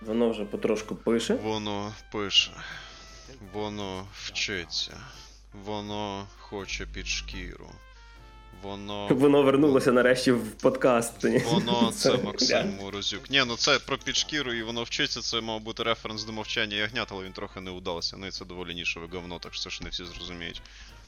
Воно вже потрошку пише. Воно пише. Воно вчиться. Воно хоче під шкіру. Воно вернулося нарешті в подкаст. Воно це Максим Морозюк. Ні, ну це про під шкіру і воно вчиться, це мав бути референс до мовчання ягнят, але він трохи не удався. Ну і це доволі нішеве говно, так що це ж не всі зрозуміють.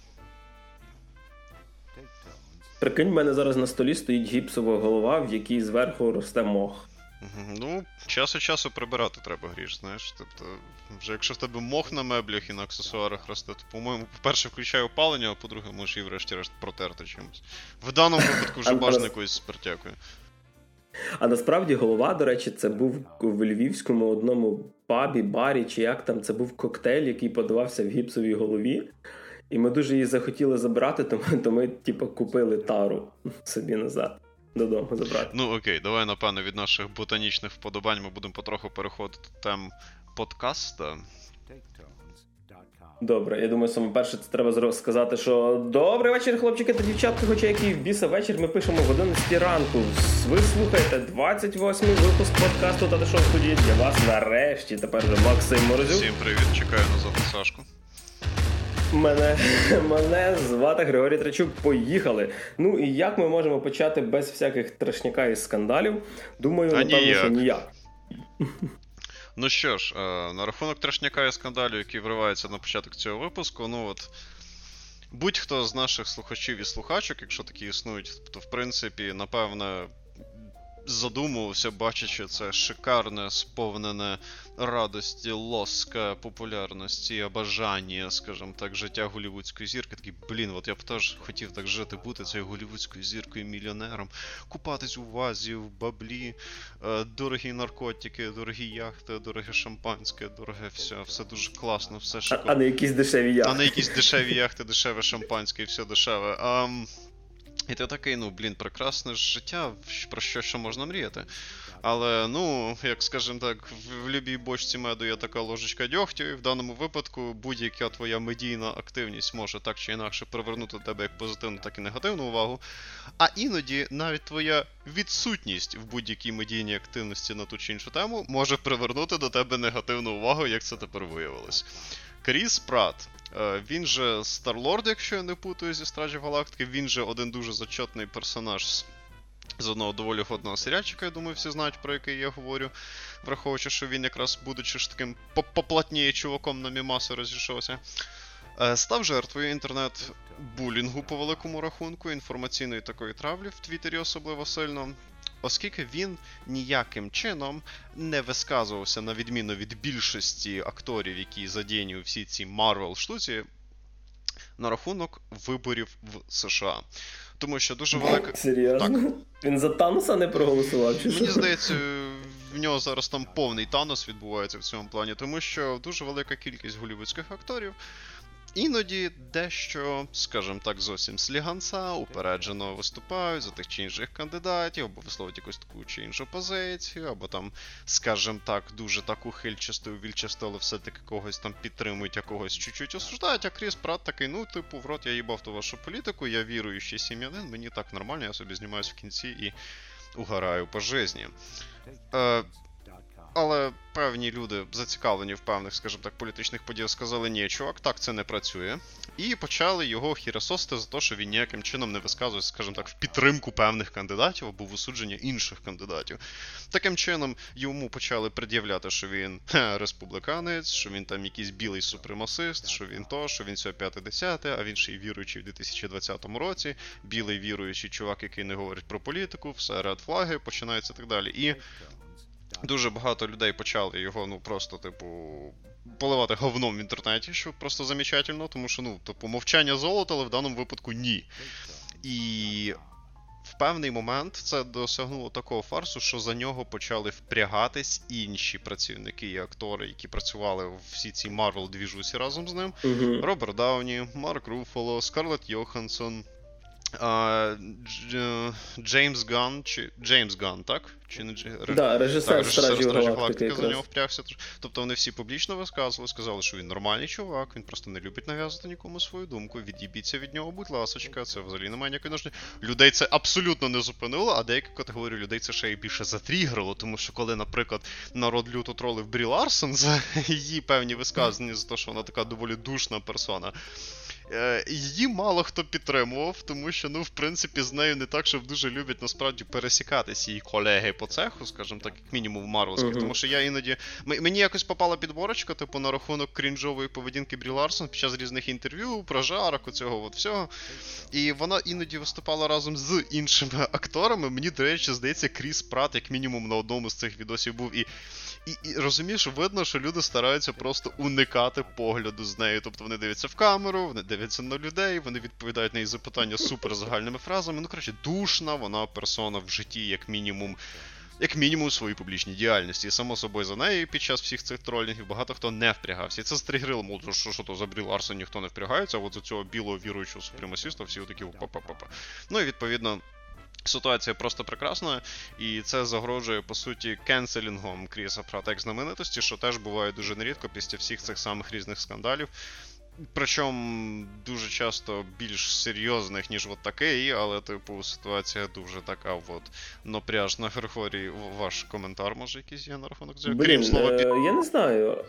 Прикинь, в мене зараз на столі стоїть гіпсова голова, в якій зверху росте мох. Ну, час від часу прибирати треба, Гріш, знаєш. Тобто, вже якщо в тебе мох на меблях і на аксесуарах росте, то, по-моєму, по-перше, включає опалення, а по-друге, можеш її врешті-решт протерти чимось. В даному випадку вже бажано якоюсь спиртякою. А насправді голова, до речі, це був в львівському одному пабі, барі, чи як там, це був коктейль, який подавався в гіпсовій голові. І ми дуже її захотіли забрати, то ми, типу, купили тару собі назад. Додому забрати. Ну окей, давай, напевно, від наших ботанічних вподобань ми будемо потроху переходити до тем подкаста. Добре, я думаю, саме перше це треба сказати, що добрий вечір, хлопчики та дівчатки, хоча який в біса вечір, ми пишемо в 11 ранку. Ви слухаєте 28-й випуск подкасту «Та що в студії» для вас нарешті. Тепер вже Максим Морозюк. Всім привіт, чекаю назад на Сашку. Мене звати Григорій Трачук. Поїхали. Ну і як ми можемо почати без всяких трешняка і скандалів? Думаю, напевно, що ніяк. Ну що ж, на рахунок трешняка і скандалів, які вриваються на початок цього випуску, ну от, будь-хто з наших слухачів і слухачок, якщо такі існують, то в принципі, напевне, задумувався, бачачи це шикарне, сповнене радості, лоска, популярності, бажання, скажімо так, життя голлівудської зірки. Такий, от я б теж хотів так жити, бути цією голлівудською зіркою, мільйонером, купатись у вазі, в баблі, дорогі наркотики, дорогі яхти, дороге шампанське, дороге все дуже класно, все шикарно. А не якісь дешеві яхти. А не якісь дешеві яхти, дешеве шампанське і все дешеве. І ти такий, прекрасне життя, про що можна мріяти. Але, як скажімо так, в любій бочці меду є така ложечка дьогтю, і в даному випадку будь-яка твоя медійна активність може так чи інакше привернути до тебе як позитивну, так і негативну увагу. А іноді навіть твоя відсутність в будь-якій медійній активності на ту чи іншу тему може привернути до тебе негативну увагу, як це тепер виявилось. Кріс Пратт. Він же Старлорд, якщо я не путаю, зі Стражів Галактики, він же один дуже зачетний персонаж з одного доволі годного серіальчика, я думаю, всі знають, про який я говорю, враховуючи, що він якраз, будучи ж таким поплотніє чуваком на мімаси розійшовся, став жертвою інтернет-булінгу по великому рахунку, інформаційної такої травлі в Твіттері особливо сильно, оскільки він ніяким чином не висказувався, на відміну від більшості акторів, які задіяні у всій цій Марвел-штуці, на рахунок виборів в США. Тому що дуже велика... Серйозно? Так. Він за Таноса не проголосував? Чи Мені здається, в нього зараз там повний Танос відбувається в цьому плані, тому що дуже велика кількість голлівудських акторів іноді дещо, скажімо так, зовсім сліганця, упереджено виступають за тих чи інших кандидатів, або висловлюють якусь таку чи іншу позицію, або там, скажімо так, дуже таку хильчасту, увільчасту, але все-таки когось там підтримують, а когось чуть-чуть осуждають, а Кріс Пратт такий, в рот я їбав ту вашу політику, я віруючий сім'янин, мені так нормально, я собі знімаюсь в кінці і угораю по житті. Але певні люди, зацікавлені в певних, скажімо так, політичних подіях, сказали, ні, чувак, так це не працює. І почали його хірососити за те, що він ніяким чином не висказується, скажімо так, в підтримку певних кандидатів або в осудження інших кандидатів. Таким чином, йому почали пред'являти, що він республіканець, що він там якийсь білий супремасист, що він то, що він все 5-10, а він ще й віруючий в 2020 році, білий віруючий чувак, який не говорить про політику, все, ред флаги, починається і так далі. І дуже багато людей почали його, просто, поливати говном в інтернеті, що просто замечательно, тому що, мовчання золота, але в даному випадку ні. І в певний момент це досягнуло такого фарсу, що за нього почали впрягатись інші працівники і актори, які працювали в всій цій Марвел-двіжусі разом з ним. Роберт Дауні, Марк Руффало, Скарлетт Йоханссон, Джеймс Ганн, так? Чи не да, режисер Стражів Галактики за нього впрягся. Тобто вони всі публічно висказували, сказали, що він нормальний чувак, він просто не любить нав'язувати нікому свою думку, від'їбіться від нього, будь ласочка, це взагалі немає ніякої нужди. Людей це абсолютно не зупинило, а деякі категорії людей це ще й більше затрігрило, тому що коли, наприклад, народ люто тролив Брі Ларсон за її певні висказання, за те, що вона така доволі душна персона, її мало хто підтримував, тому що, в принципі, з нею не так, щоб дуже люблять, насправді, пересікатися її колеги по цеху, скажімо так, як мінімум в марвелських, тому що я іноді... Мені якось попала підборочка, типу, на рахунок крінжової поведінки Брі Ларсон під час різних інтерв'ю, прожарок, цього от всього, і вона іноді виступала разом з іншими акторами, мені, до речі, здається, Кріс Пратт, як мінімум, на одному з цих відосів був, і розумієш, видно, що люди стараються просто уникати погляду з нею. Тобто вони дивляться в камеру, вони дивляться на людей, вони відповідають на її запитання супер загальними фразами. Душна вона персона в житті, як мінімум в своїй публічній діяльності. І само собою за нею під час всіх цих тролінгів багато хто не впрягався. І це стригрило, мол, що то за Брі Ларсон ніхто не впрягається, а от за цього білого віруючого супремасіста всі отакі па-па-па-па. І відповідно, ситуація просто прекрасна, і це загрожує, по суті, кенселінгом Кріса Пратта як знаменитості, що теж буває дуже нерідко після всіх цих самих різних скандалів. Причому дуже часто більш серйозних, ніж от такий, але, ситуація дуже така напряжна. Григорій, ваш коментар, може, якийсь є на рахунок цього? Крім слова я не знаю.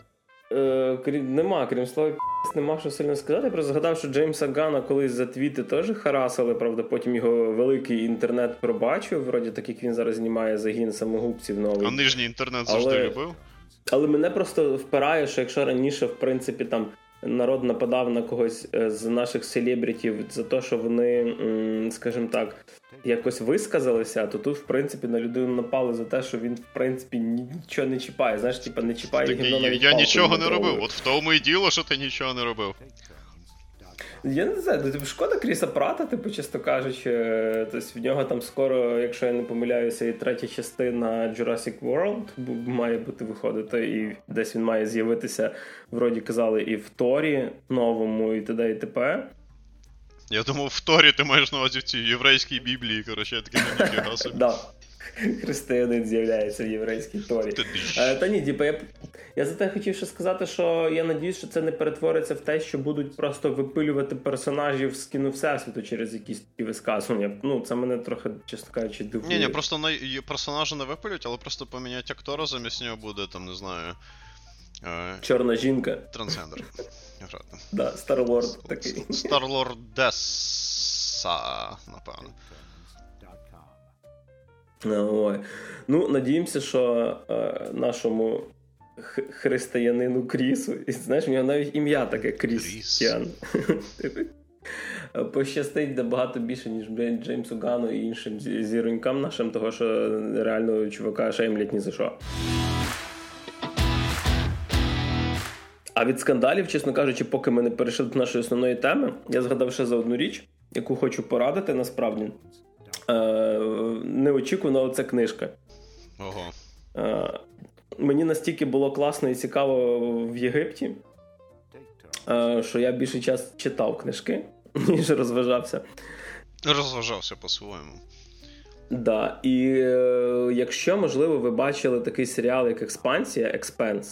Крім слова нема що сильно сказати. Я просто згадав, що Джеймса Ганна колись за твіти теж харасили, правда, потім його великий інтернет пробачив, вроді так, як він зараз знімає загін самогубців новий. А нижній інтернет завжди любив? Але мене просто впирає, що якщо раніше, в принципі, там народ нападав на когось з наших селебритів за те, що вони, скажімо так, якось висказалися, то тут, в принципі, на людину напали за те, що він, в принципі, нічого не чіпає. Знаєш, типа, не чіпає гімно навіть я нічого не робив. От в тому і діло, що ти нічого не робив. Я не знаю, шкода Кріса Пратта, чесно кажучи. Тобто в нього там скоро, якщо я не помиляюся, і третя частина Jurassic World має бути виходити, і десь він має з'явитися, вроді казали, і в Торі новому, і т.д. і т.п. Я думав, в Торі ти маєш на увазі в цій єврейській Біблії, коротше, я такий не ніфіга собі. Да. Християнин з'являється в єврейській Торі. Та ні, я за те хотів ще сказати, що я надіюсь, що це не перетвориться в те, що будуть просто випилювати персонажів з кіно Всесвіту через якісь такі висказування. Це мене трохи, чесно кажучи, дивує. Ні, просто персонажа не випилють, але просто поміняють актора, замість нього буде, там, не знаю... Чорна жінка. Трансгендер. Да, Старлорд такий. Старлордеса, напевно. Ой. Надіємося, що нашому християнину Крісу, знаєш, у нього навіть ім'я таке Крістіан. Пощастить набагато більше, ніж Джеймсу Ганну і іншим зіронькам нашим, того, що реально чувака шеймлять ні за що. А від скандалів, чесно кажучи, поки ми не перейшли до нашої основної теми, я згадав ще за одну річ, яку хочу порадити, насправді. Неочікувана оця книжка. Ого. Мені настільки було класно і цікаво в Єгипті, що я більший час читав книжки, ніж розважався. Розважався по-своєму. Да. І якщо, можливо, ви бачили такий серіал, як «Експанс»,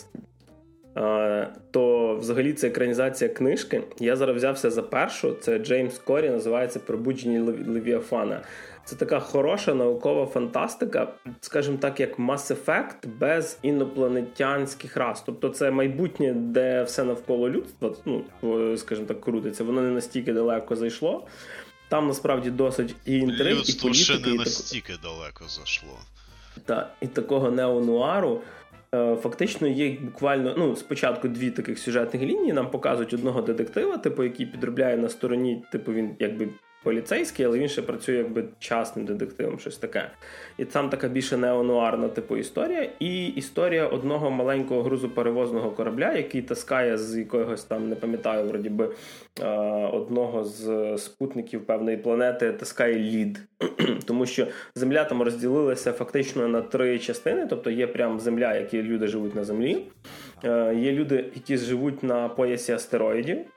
то взагалі це екранізація книжки. Я зараз взявся за першу, це Джеймс Корі, називається «Пробудження Левіафана». Це така хороша наукова фантастика, скажімо так, як Mass Effect без інопланетянських рас. Тобто це майбутнє, де все навколо людства, скажімо так, крутиться. Воно не настільки далеко зайшло. Там насправді досить і інтриг, і політики. Людство ще не настільки далеко зайшло. Так, і такого неонуару. Фактично є буквально, спочатку дві таких сюжетних лінії. Нам показують одного детектива, який підробляє на стороні, він якби поліцейський, але він ще працює якби частним детективом, щось таке. І там така більше неонуарна історія. І історія одного маленького грузоперевозного корабля, який таскає з якогось там, не пам'ятаю, вроді би, одного з спутників певної планети, таскає лід. Тому що Земля там розділилася фактично на 3 частини, тобто є прям Земля, які люди живуть на Землі, є люди, які живуть на поясі астероїдів,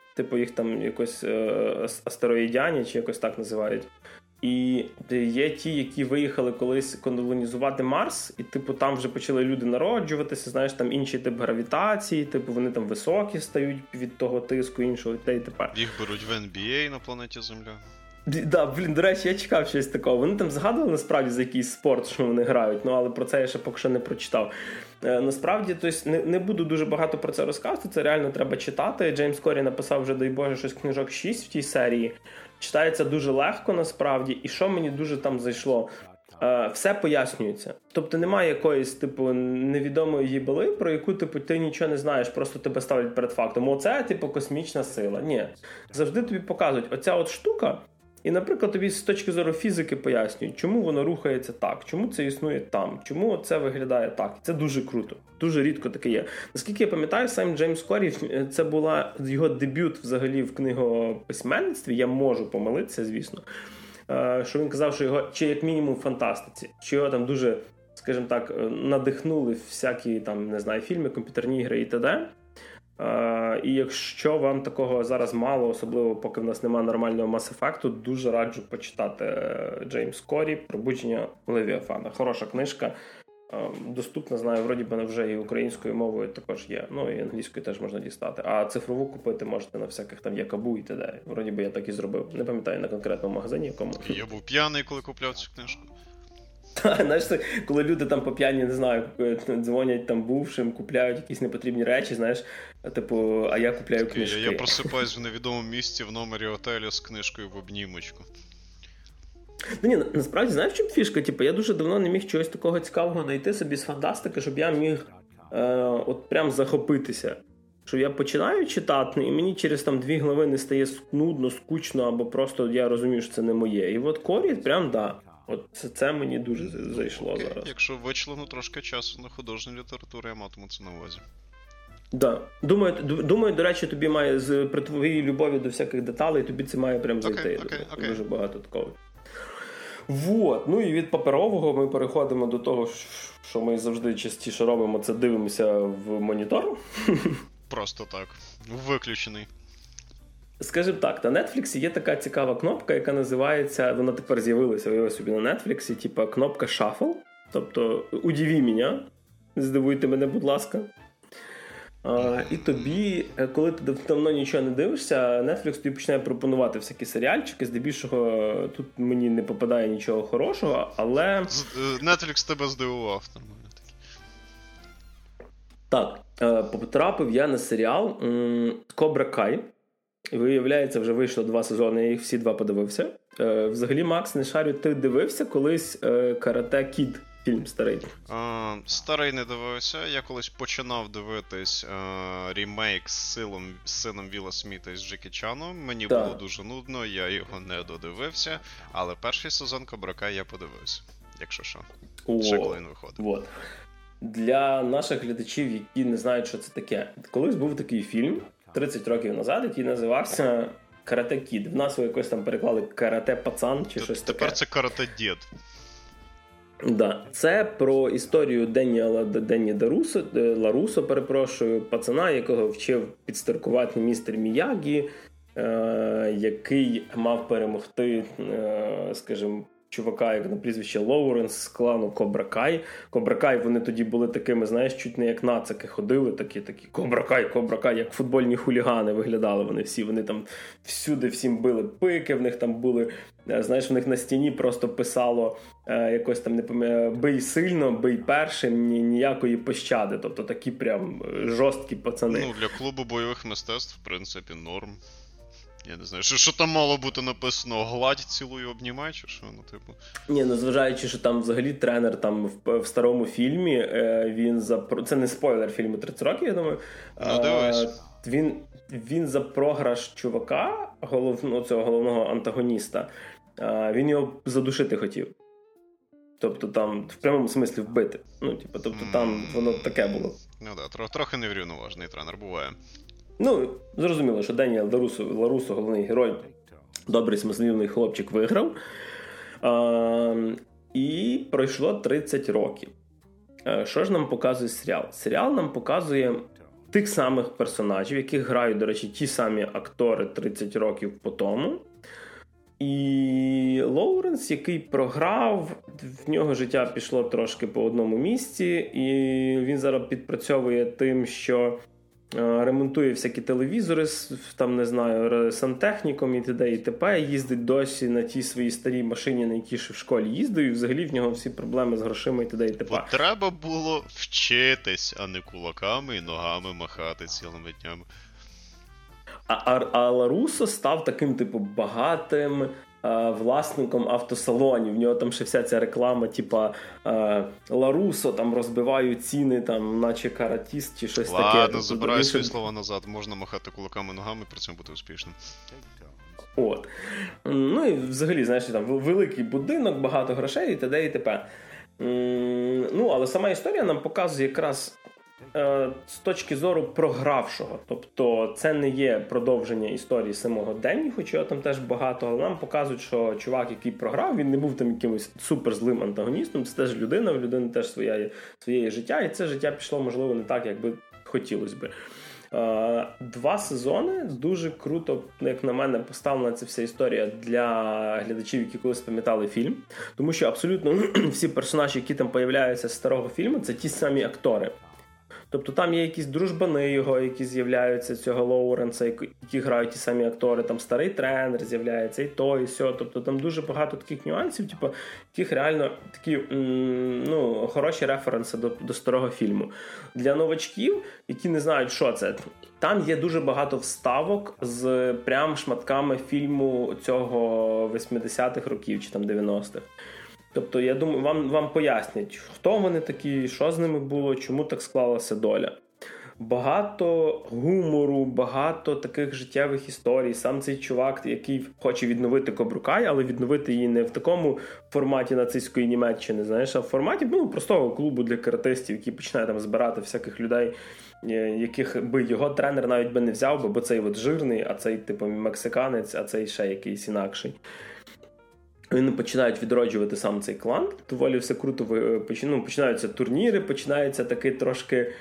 типу їх там якось астероїдяні, чи якось так називають. І є ті, які виїхали колись колонізувати Марс, і типу там вже почали люди народжуватися, знаєш, там інший тип гравітації, типу вони там високі стають від того тиску іншого, і тепер. Їх беруть в NBA на планеті Земля. Да, до речі, я чекав щось такого. Вони там згадували насправді за якийсь спорт, що вони грають, але про це я ще поки що не прочитав. Насправді, тобто, не буду дуже багато про це розказувати, це реально треба читати. Джеймс Корі написав вже, дай Боже, щось книжок 6 в тій серії. Читається дуже легко насправді, і що мені дуже там зайшло? Все пояснюється. Тобто немає якоїсь, типу, невідомої їбали, про яку, типу, ти нічого не знаєш, просто тебе ставлять перед фактом. Оце, типу, космічна сила. Ні. Завжди тобі показують, оця от штука, і, наприклад, тобі з точки зору фізики пояснюють, чому воно рухається так, чому це існує там, чому це виглядає так. Це дуже круто. Дуже рідко таке є. Наскільки я пам'ятаю, сам Джеймс Корі, це була його дебют взагалі в книгописьменництві, я можу помилитися, звісно, що він казав, що його, чи як мінімум в фантастиці, що його там дуже, скажімо так, надихнули всякі там, не знаю, фільми, комп'ютерні ігри і т.д. І якщо вам такого зараз мало, особливо поки в нас немає нормального Mass Effect, дуже раджу почитати Джеймс Корі «Пробудження Левіафана». Хороша книжка, доступна, знаю, вроді би вже і українською мовою також є, ну і англійською теж можна дістати. А цифрову купити можете на всяких там Якабу і т.д. Вроді би я так і зробив. Не пам'ятаю на конкретному магазині якому. Я був п'яний, коли купляв цю книжку. Знаєш, коли люди там по п'яні, не знаю, дзвонять там бувшим, купляють якісь непотрібні речі, знаєш, типу, а я купляю книжки. Я просипаюсь в невідомому місці в номері готелю з книжкою в обнімочку. Ну ні, насправді, знаєш, в чому фішка? Типу, я дуже давно не міг чогось такого цікавого знайти собі з фантастики, щоб я міг от прям захопитися. Що я починаю читати, і мені через там 2 глави не стає нудно, скучно, або просто я розумію, що це не моє. І от Корі прям, да. От це мені дуже зайшло зараз. Якщо вичлену трошки часу на художню літературу, я матиму це на увазі. Да. Думаю, до речі, тобі має при твоїй любові до всяких деталей, тобі це має прям зайти. Окей. Дуже багато такого. Вот. Ну і від паперового ми переходимо до того, що ми завжди частіше робимо, це дивимося в монітор. Просто так. Виключений. Скажімо так, на Netflix є така цікава кнопка, яка називається, вона тепер з'явилася, виявилася собі на Netflix, типа кнопка Shuffle. Тобто, удиви мене, здивуйте мене, будь ласка. І тобі, коли ти давно нічого не дивишся, Netflix тобі починає пропонувати всякі серіальчики, здебільшого тут мені не попадає нічого хорошого, але... Netflix тебе здивував, нормально таки. Так, потрапив я на серіал Кобра Кай. Виявляється, вже вийшло 2 сезони, я їх всі 2 подивився. Взагалі, Макс, не шарю, ти дивився колись Карате Кід? Фільм старий. Старий не дивився. Я колись починав дивитись ремейк з сином Вілла Сміта із Джекі Чаном. Мені було дуже нудно, я його не додивився. Але перший сезон Кобра Кай я подивився. Якщо що. Ще коли він виходить. Вот. Для наших глядачів, які не знають, що це таке. Колись був такий фільм 30 років назад, який називався Карате Кід. В нас якось там переклали Карате Пацан чи щось таке. Тепер це Карате Дід. Да. Це про історію Денні Ларусо, пацана, якого вчив підстаркувати містер Міягі, який мав перемогти, скажімо, чувака, як на прізвище Лоуренс з клану Кобра Кай. Кобра Кай, вони тоді були такими, знаєш, чуть не як нацики ходили, такі Кобра Кай, як футбольні хулігани виглядали вони всі. Вони там всюди всім били пики, в них там були, знаєш, в них на стіні просто писало якось там, не пам'ятаю, бий сильно, бий першим, ніякої пощади. Тобто такі прям жорсткі пацани. Ну, для клубу бойових мистецтв, в принципі, норм. Я не знаю, що там мало бути написано, гладь, цілую, обнімай, чи що, ну, типу. Ні, ну, зважаючи, що там взагалі тренер там в старому фільмі, він це не спойлер фільму 30 років, я думаю. Ну, дивись. Він за програш чувака, цього головного антагоніста, він його задушити хотів. Тобто там, в прямому смислі вбити. Ну, типу, тобто там воно таке було. Ну, да, трохи неврівноважений тренер буває. Ну, зрозуміло, що Деніел Ларусо, головний герой, добрий, смазливий хлопчик, виграв. І пройшло 30 років. Що ж нам показує серіал? Серіал нам показує тих самих персонажів, яких грають, до речі, ті самі актори 30 років по тому. І Лоуренс, який програв, в нього життя пішло трошки по одному місці, і він зараз підпрацьовує тим, що ремонтує всякі телевізори, там, не знаю, сантехніком і т.д. і т.п. Їздить досі на тій своїй старій машині, на якій ще в школі їздив, і взагалі в нього всі проблеми з грошима і т.д. і т.п. Бо треба було вчитись, а не кулаками і ногами махати цілими днями. А Ларусо став таким, типу, багатим власником автосалонів. В нього там ще вся ця реклама, типа Ларусо там розбивають ціни, там, наче каратіст чи щось таке. Ладно, забираю свої слова назад. Можна махати кулаками, ногами, при цьому бути успішним. От. Ну і взагалі, знаєш, там великий будинок, багато грошей і т.д. і т.п. Ну, але сама історія нам показує якраз з точки зору програвшого. Тобто це не є продовження історії самого Денні, хоч його там теж багато, але нам показують, що чувак, який програв, він не був там якимось суперзлим антагоністом, це теж людина, в людини теж своє життя, і це життя пішло, можливо, не так, як би хотілося би. 2 сезони, дуже круто, як на мене, поставлена ця вся історія для глядачів, які колись пам'ятали фільм, тому що абсолютно всі персонажі, які там появляються з старого фільму, це ті самі актори. Тобто там є якісь дружбани його, які з'являються, цього Лоуренса, які грають ті самі актори, там старий тренер з'являється, і то, і сьо. Тобто там дуже багато таких нюансів, типу, яких реально такі хороші референси до старого фільму. Для новачків, які не знають, що це, там є дуже багато вставок з прям шматками фільму цього 80-х років чи там 90-х. Тобто, я думаю, вам пояснять, хто вони такі, що з ними було, чому так склалася доля. Багато гумору, багато таких життєвих історій. Сам цей чувак, який хоче відновити Кобру Кай, але відновити її не в такому форматі нацистської Німеччини, знаєш, а в форматі простого клубу для каратистів, який починає там збирати всяких людей, яких би його тренер навіть би не взяв, бо цей от жирний, а цей типу мексиканець, а цей ще якийсь інакший. Вони починають відроджувати сам цей клан, доволі все круто, починаються турніри, починається такий трошки,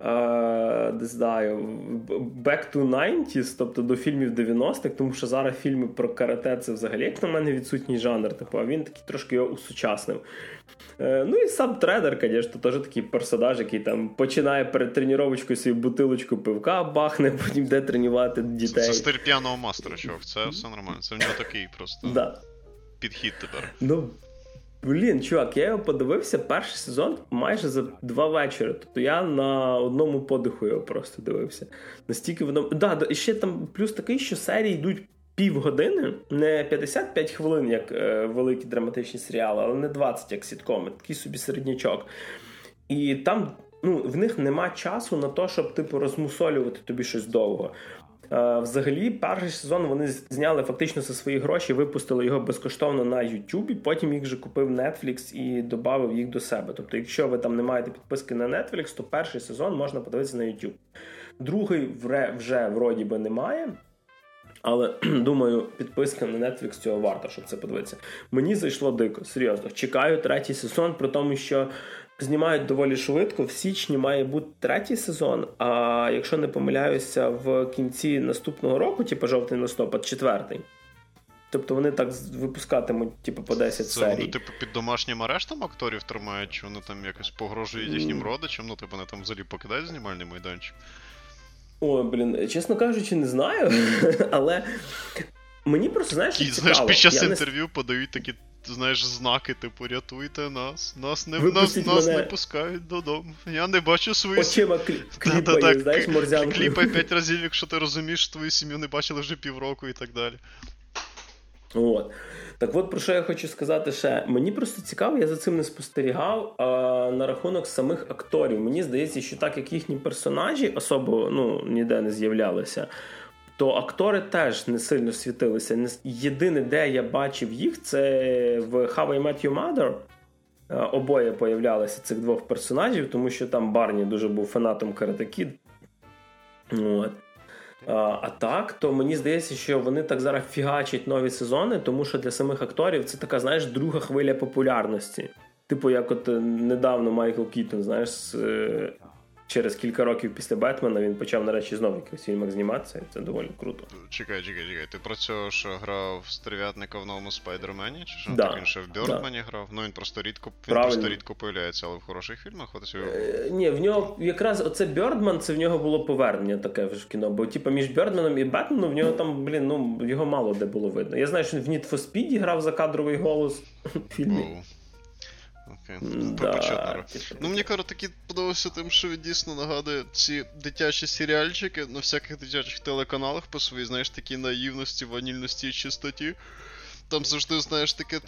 не знаю, back to 90s, тобто до фільмів 90-х, тому що зараз фільми про карате це взагалі, як на мене, відсутній жанр, типу, а він такий трошки його усучаснив. Ну і сам тренер, звісно, теж такий персонаж, який там починає перед тренувачкою свою бутилочку пивка бахне, потім йде тренувати дітей. Це стиль п'яного мастера, чувак, це все нормально, це в нього такий просто... Да. Підхід тепер. Ну, блін, чувак, я його подивився перший сезон майже за 2 вечори. Тобто я на одному подиху його просто дивився. Настільки воно... Да, і ще там плюс такий, що серії йдуть півгодини, не 55 хвилин, як великі драматичні серіали, але не 20, як сіткоми. Такий собі середнячок. І там, в них нема часу на те, щоб, типу, розмусолювати тобі щось довго. Взагалі, перший сезон вони зняли фактично за свої гроші, випустили його безкоштовно на YouTube, потім їх же купив Netflix і додав їх до себе. Тобто, якщо ви там не маєте підписки на Netflix, то перший сезон можна подивитися на YouTube. Другий вже вроді би немає, але, думаю, підписка на Netflix цього варта, щоб це подивитися. Мені зайшло дико, серйозно. Чекаю 3-й сезон, при тому, що знімають доволі швидко. В січні має бути 3-й сезон, а якщо не помиляюся, в кінці наступного року, типу жовтень-листопад, 4-й. Тобто вони так випускатимуть, типу, по 10 серій. Це вони, типу, під домашнім арештом акторів тримають, чи вони там якось погрожують їхнім родичам? Ну, типу, вони там взагалі покидають знімальний майданчик? Ой, блін, чесно кажучи, не знаю, але мені просто, знаєш, цікаво. Знаєш, під час інтерв'ю подають такі, знаєш, знаки, типу, рятуйте нас не пускають додому. Я не бачу свою сім'ю. Очима кліпає, знаєш, морзянку. Кліпай 5 разів, якщо ти розумієш, що твою сім'ю не бачили вже півроку і так далі. От. Так от, про що я хочу сказати ще. Мені просто цікаво, я за цим не спостерігав, на рахунок самих акторів. Мені здається, що так, як їхні персонажі особо, ніде не з'являлися, то актори теж не сильно світилися. Єдине, де я бачив їх, це в How I Met Your Mother. Обоє появлялися цих 2 персонажів, тому що там Барні дуже був фанатом Karate Kid. От. А так, то мені здається, що вони так зараз фігачать нові сезони, тому що для самих акторів це така, знаєш, друга хвиля популярності. Типу, як от недавно Майкл Кітон, знаєш, з через кілька років після Бетмена він почав нарешті знову в якихось фільмах зніматися, і це доволі круто. Чекай. Ти про цього, що грав Стерв'ятника в новому Спайдермені? Чи що? Да. Так він ще в Бьордмані грав? Ну він просто рідко появляється, але в хороших фільмах. Ні, в нього якраз оце Бьордман, це в нього було повернення таке в кіно, бо типу між Бьордманом і Бетменом в нього там, його мало де було видно. Я знаю, що він в Need for Speed грав закадровий голос в фільмі. Окей. Мені таки подобався тим, що він дійсно нагадує ці дитячі серіальчики на всяких дитячих телеканалах по своїй, знаєш, такій наївності, ванільності і чистоті. Там завжди, знаєш, таке,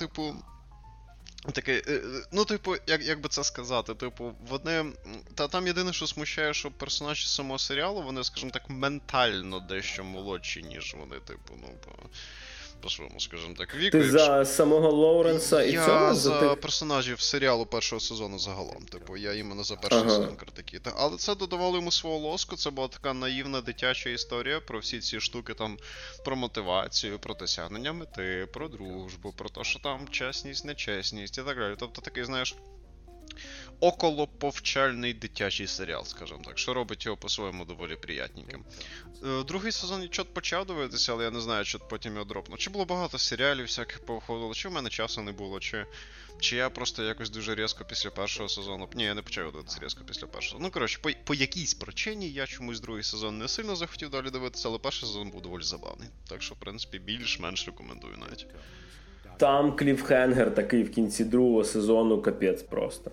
як би це сказати, вони... Там єдине, що смущає, що персонажі самого серіалу, вони, скажімо так, ментально дещо молодші, ніж вони, по-своєму, скажімо так, віку. Ти за самого Лоуренса і цього? Я за персонажів серіалу першого сезону загалом. Я іменно за перший сезон критики. Але це додавало йому свого лоску, це була така наївна дитяча історія про всі ці штуки, там, про мотивацію, про досягнення мети, про дружбу, про те, що там чесність, нечесність і так далі. Тобто такий, знаєш, околоповчальний дитячий серіал, скажімо так, що робить його по-своєму доволі приятненьким. Другий сезон я почав дивитися, але я не знаю, чи потім його дропнув. Чи було багато серіалів всяких повиходило, чи в мене часу не було, чи я просто якось дуже різко після першого сезону... Ні, я не почав дивитися різко після першого. Коротше, по якійсь причині я чомусь другий сезон не сильно захотів далі дивитися, але перший сезон був доволі забавний. Так що, в принципі, більш-менш рекомендую навіть. Там кліфхенгер такий в кінці другого сезону, капець просто.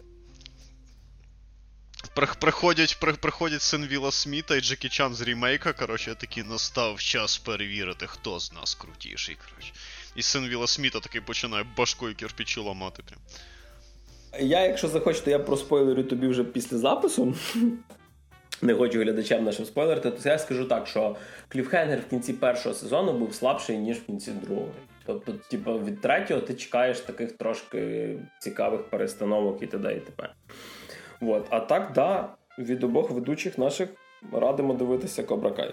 Приходять син Вілла Сміта і Джекі Чан з рімейка, коротше, такий настав час перевірити, хто з нас крутіший, коротше. І син Вілла Сміта такий починає башкою кирпичі ламати прям. Я, якщо захочете, я проспойлерю тобі вже після запису. Не хочу глядачам нашим спойлерити, то я скажу так, що кліфхенгер в кінці першого сезону був слабший, ніж в кінці другого. Тобто, від третього ти чекаєш таких трошки цікавих перестановок і т.д. і т.п. Вот. А так, да, від обох ведучих наших радимо дивитися Кобра Кай.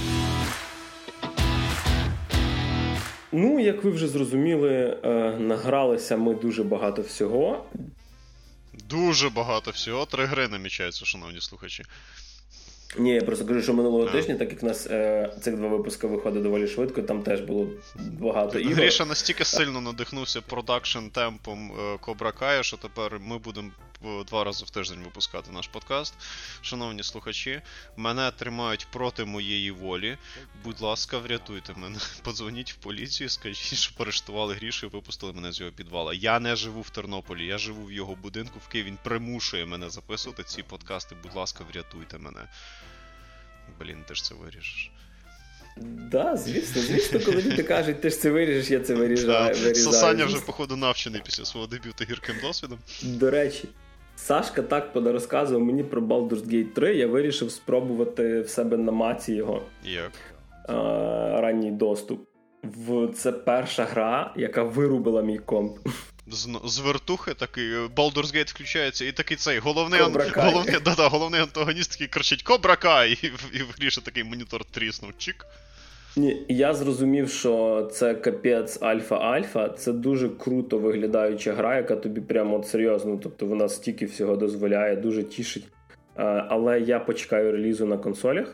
Ну, як ви вже зрозуміли, награлися ми дуже багато всього. Дуже багато всього. 3 гри намічаються, шановні слухачі. Ні, я просто кажу, що минулого тижня, так як у нас цих 2 випуски виходить доволі швидко, там теж було багато ігор. Гріша настільки сильно надихнувся продакшн темпом Кобра Кая, що тепер ми будемо 2 рази в тиждень випускати наш подкаст. Шановні слухачі, мене тримають проти моєї волі. Будь ласка, врятуйте мене. Подзвоніть в поліцію, скажіть, що арештували Грішу і випустили мене з його підвала. Я не живу в Тернополі, я живу в його будинку в Києві. Він примушує мене записувати ці подкасти. Будь ласка, врятуйте мене. Блін, ти ж це виріжеш. Да, звісно, коли люди кажуть, ти ж це виріжеш, я це вирізаю. Саня вже, походу, навчений після свого дебюту гірким досвідом. До речі, Сашка так розказував мені про Baldur's Gate 3, я вирішив спробувати в себе на маці його. Як? Ранній доступ. Це перша гра, яка вирубила мій комп. З вертухи такий, Baldur's Gate включається, і такий цей головний антагоніст такий кричить «Кобра Кай!» і в Гріші такий монітор тріснув. Чик. Ні, я зрозумів, що це капець альфа-альфа, це дуже круто виглядаюча гра, яка тобі прямо от серйозно, тобто вона стільки всього дозволяє, дуже тішить. Але я почекаю релізу на консолях.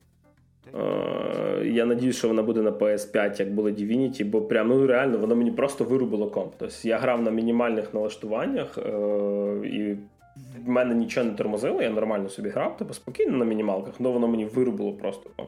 Я надіюсь, що вона буде на PS5, як було Divinity, бо прям, реально, воно мені просто вирубило комп. Тобто я грав на мінімальних налаштуваннях, і в мене нічого не тормозило, я нормально собі грав, тобто спокійно на мінімалках, але воно мені вирубило просто комп.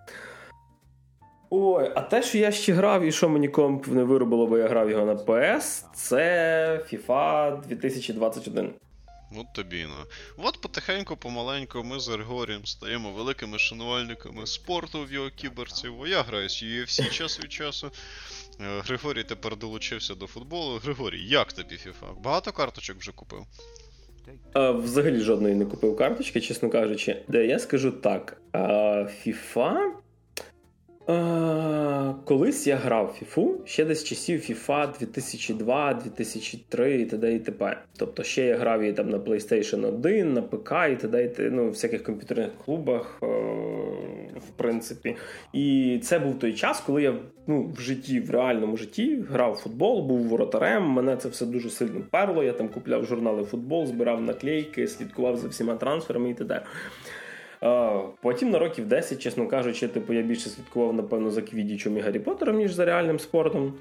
Ой, а те, що я ще грав і що мені комп не вирубило, бо я грав його на PS, це FIFA 2021. От тобі, От потихеньку, помаленьку ми з Григорієм стаємо великими шанувальниками спорту в його кіберців. Я граю з UFC час від часу. Григорій тепер долучився до футболу. Григорій, як тобі FIFA? Багато карточок вже купив? Взагалі жодної не купив карточки, чесно кажучи. Я скажу так, FIFA... Колись я грав в FIFA, ще десь часів FIFA 2002, 2003 і т.д. і т.п. Тобто ще я грав її там на PlayStation 1, на ПК і т.д. В всяких комп'ютерних клубах, в принципі. І це був той час, коли я в житті, в реальному житті грав в футбол, був воротарем, мене це все дуже сильно перло, я там купляв журнали футбол, збирав наклейки, слідкував за всіма трансферами і т.д. Потім на років 10, чесно кажучи, я більше слідкував, напевно, за Квіддічем і Гаррі Поттером, ніж за реальним спортом.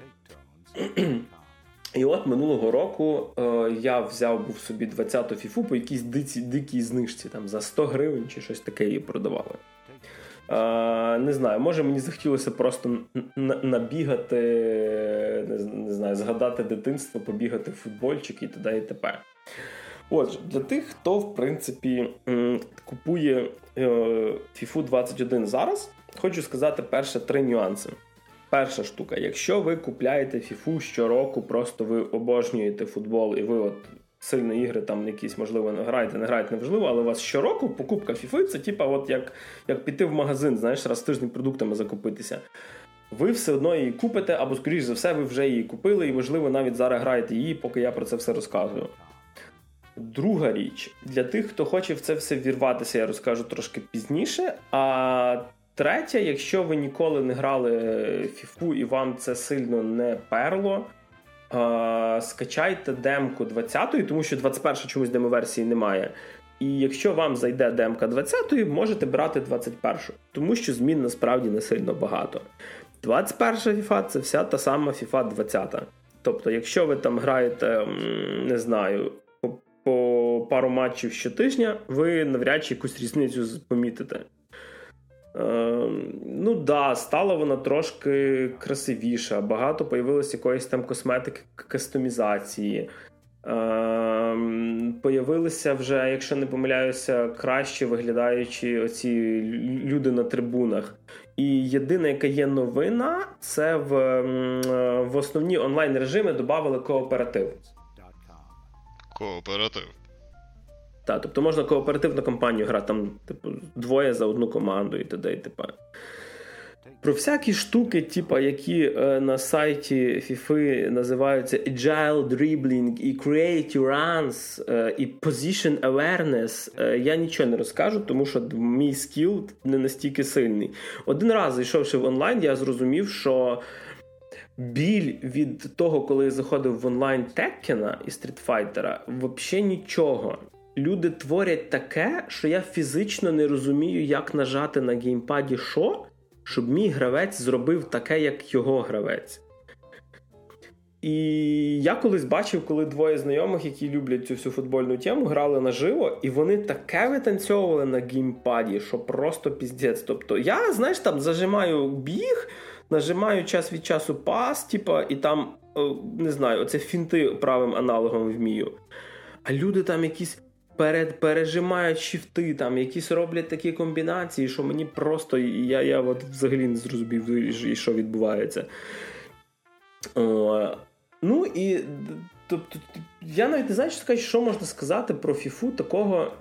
І от минулого року я був собі 20-ту фіфу по якійсь дикій знижці, там за 100 гривень чи щось таке її продавали. Не знаю, може мені захотілося просто набігати, не знаю, згадати дитинство, побігати в футбольчик і т.д. і т.п. Отже, для тих, хто, в принципі, купує FIFA 21 зараз, хочу сказати перше 3 нюанси. Перша штука, якщо ви купляєте FIFA щороку, просто ви обожнюєте футбол і ви от сильно ігри там якісь, можливо, не граєте, неважливо, але у вас щороку покупка FIFA це типа от як піти в магазин, знаєш, раз в тиждень продуктами закупитися. Ви все одно її купите, або, скоріш за все, ви вже її купили і, можливо, навіть зараз граєте її, поки я про це все розказую. Друга річ, для тих, хто хоче в це все вірватися, я розкажу трошки пізніше. А третя, якщо ви ніколи не грали FIFA і вам це сильно не перло, скачайте демку 20-ї, тому що 21-ї чомусь демоверсії немає. І якщо вам зайде демка 20-ї, можете брати 21-ю, тому що змін насправді не сильно багато. 21-ша FIFA – це вся та сама FIFA 20-та. Тобто, якщо ви там граєте, не знаю, по пару матчів щотижня, ви навряд чи якусь різницю помітите. Стала вона трошки красивіша, багато появилось якоїсь там косметики, кастомізації. Появилися вже, якщо не помиляюся, краще виглядаючі оці люди на трибунах. І єдина, яка є новина, це в основні онлайн-режими додали кооператив. Кооператив. Так, тобто можна кооперативну кампанію грати, там, двоє за одну команду і т.д. і т.п. Про всякі штуки, які на сайті FIFA називаються Agile Dribbling і Create Runs і Position Awareness, я нічого не розкажу, тому що мій скіл не настільки сильний. Один раз, зайшовши в онлайн, я зрозумів, що біль від того, коли я заходив в онлайн Теккена і Стрітфайтера, взагалі нічого. Люди творять таке, що я фізично не розумію, як нажати на геймпаді щоб мій гравець зробив таке, як його гравець. І я колись бачив, коли двоє знайомих, які люблять цю всю футбольну тему, грали наживо, і вони таке витанцьовували на геймпаді, що просто піздець. Тобто я, знаєш, там зажимаю біг, нажимаю час від часу пас, і там, не знаю, оце фінти правим аналогом вмію. А люди там якісь пережимають шифти, там якісь роблять такі комбінації, що мені просто, я от взагалі не зрозумів, і що відбувається. І тобто, я навіть не знаю, що можна сказати про FIFA такого,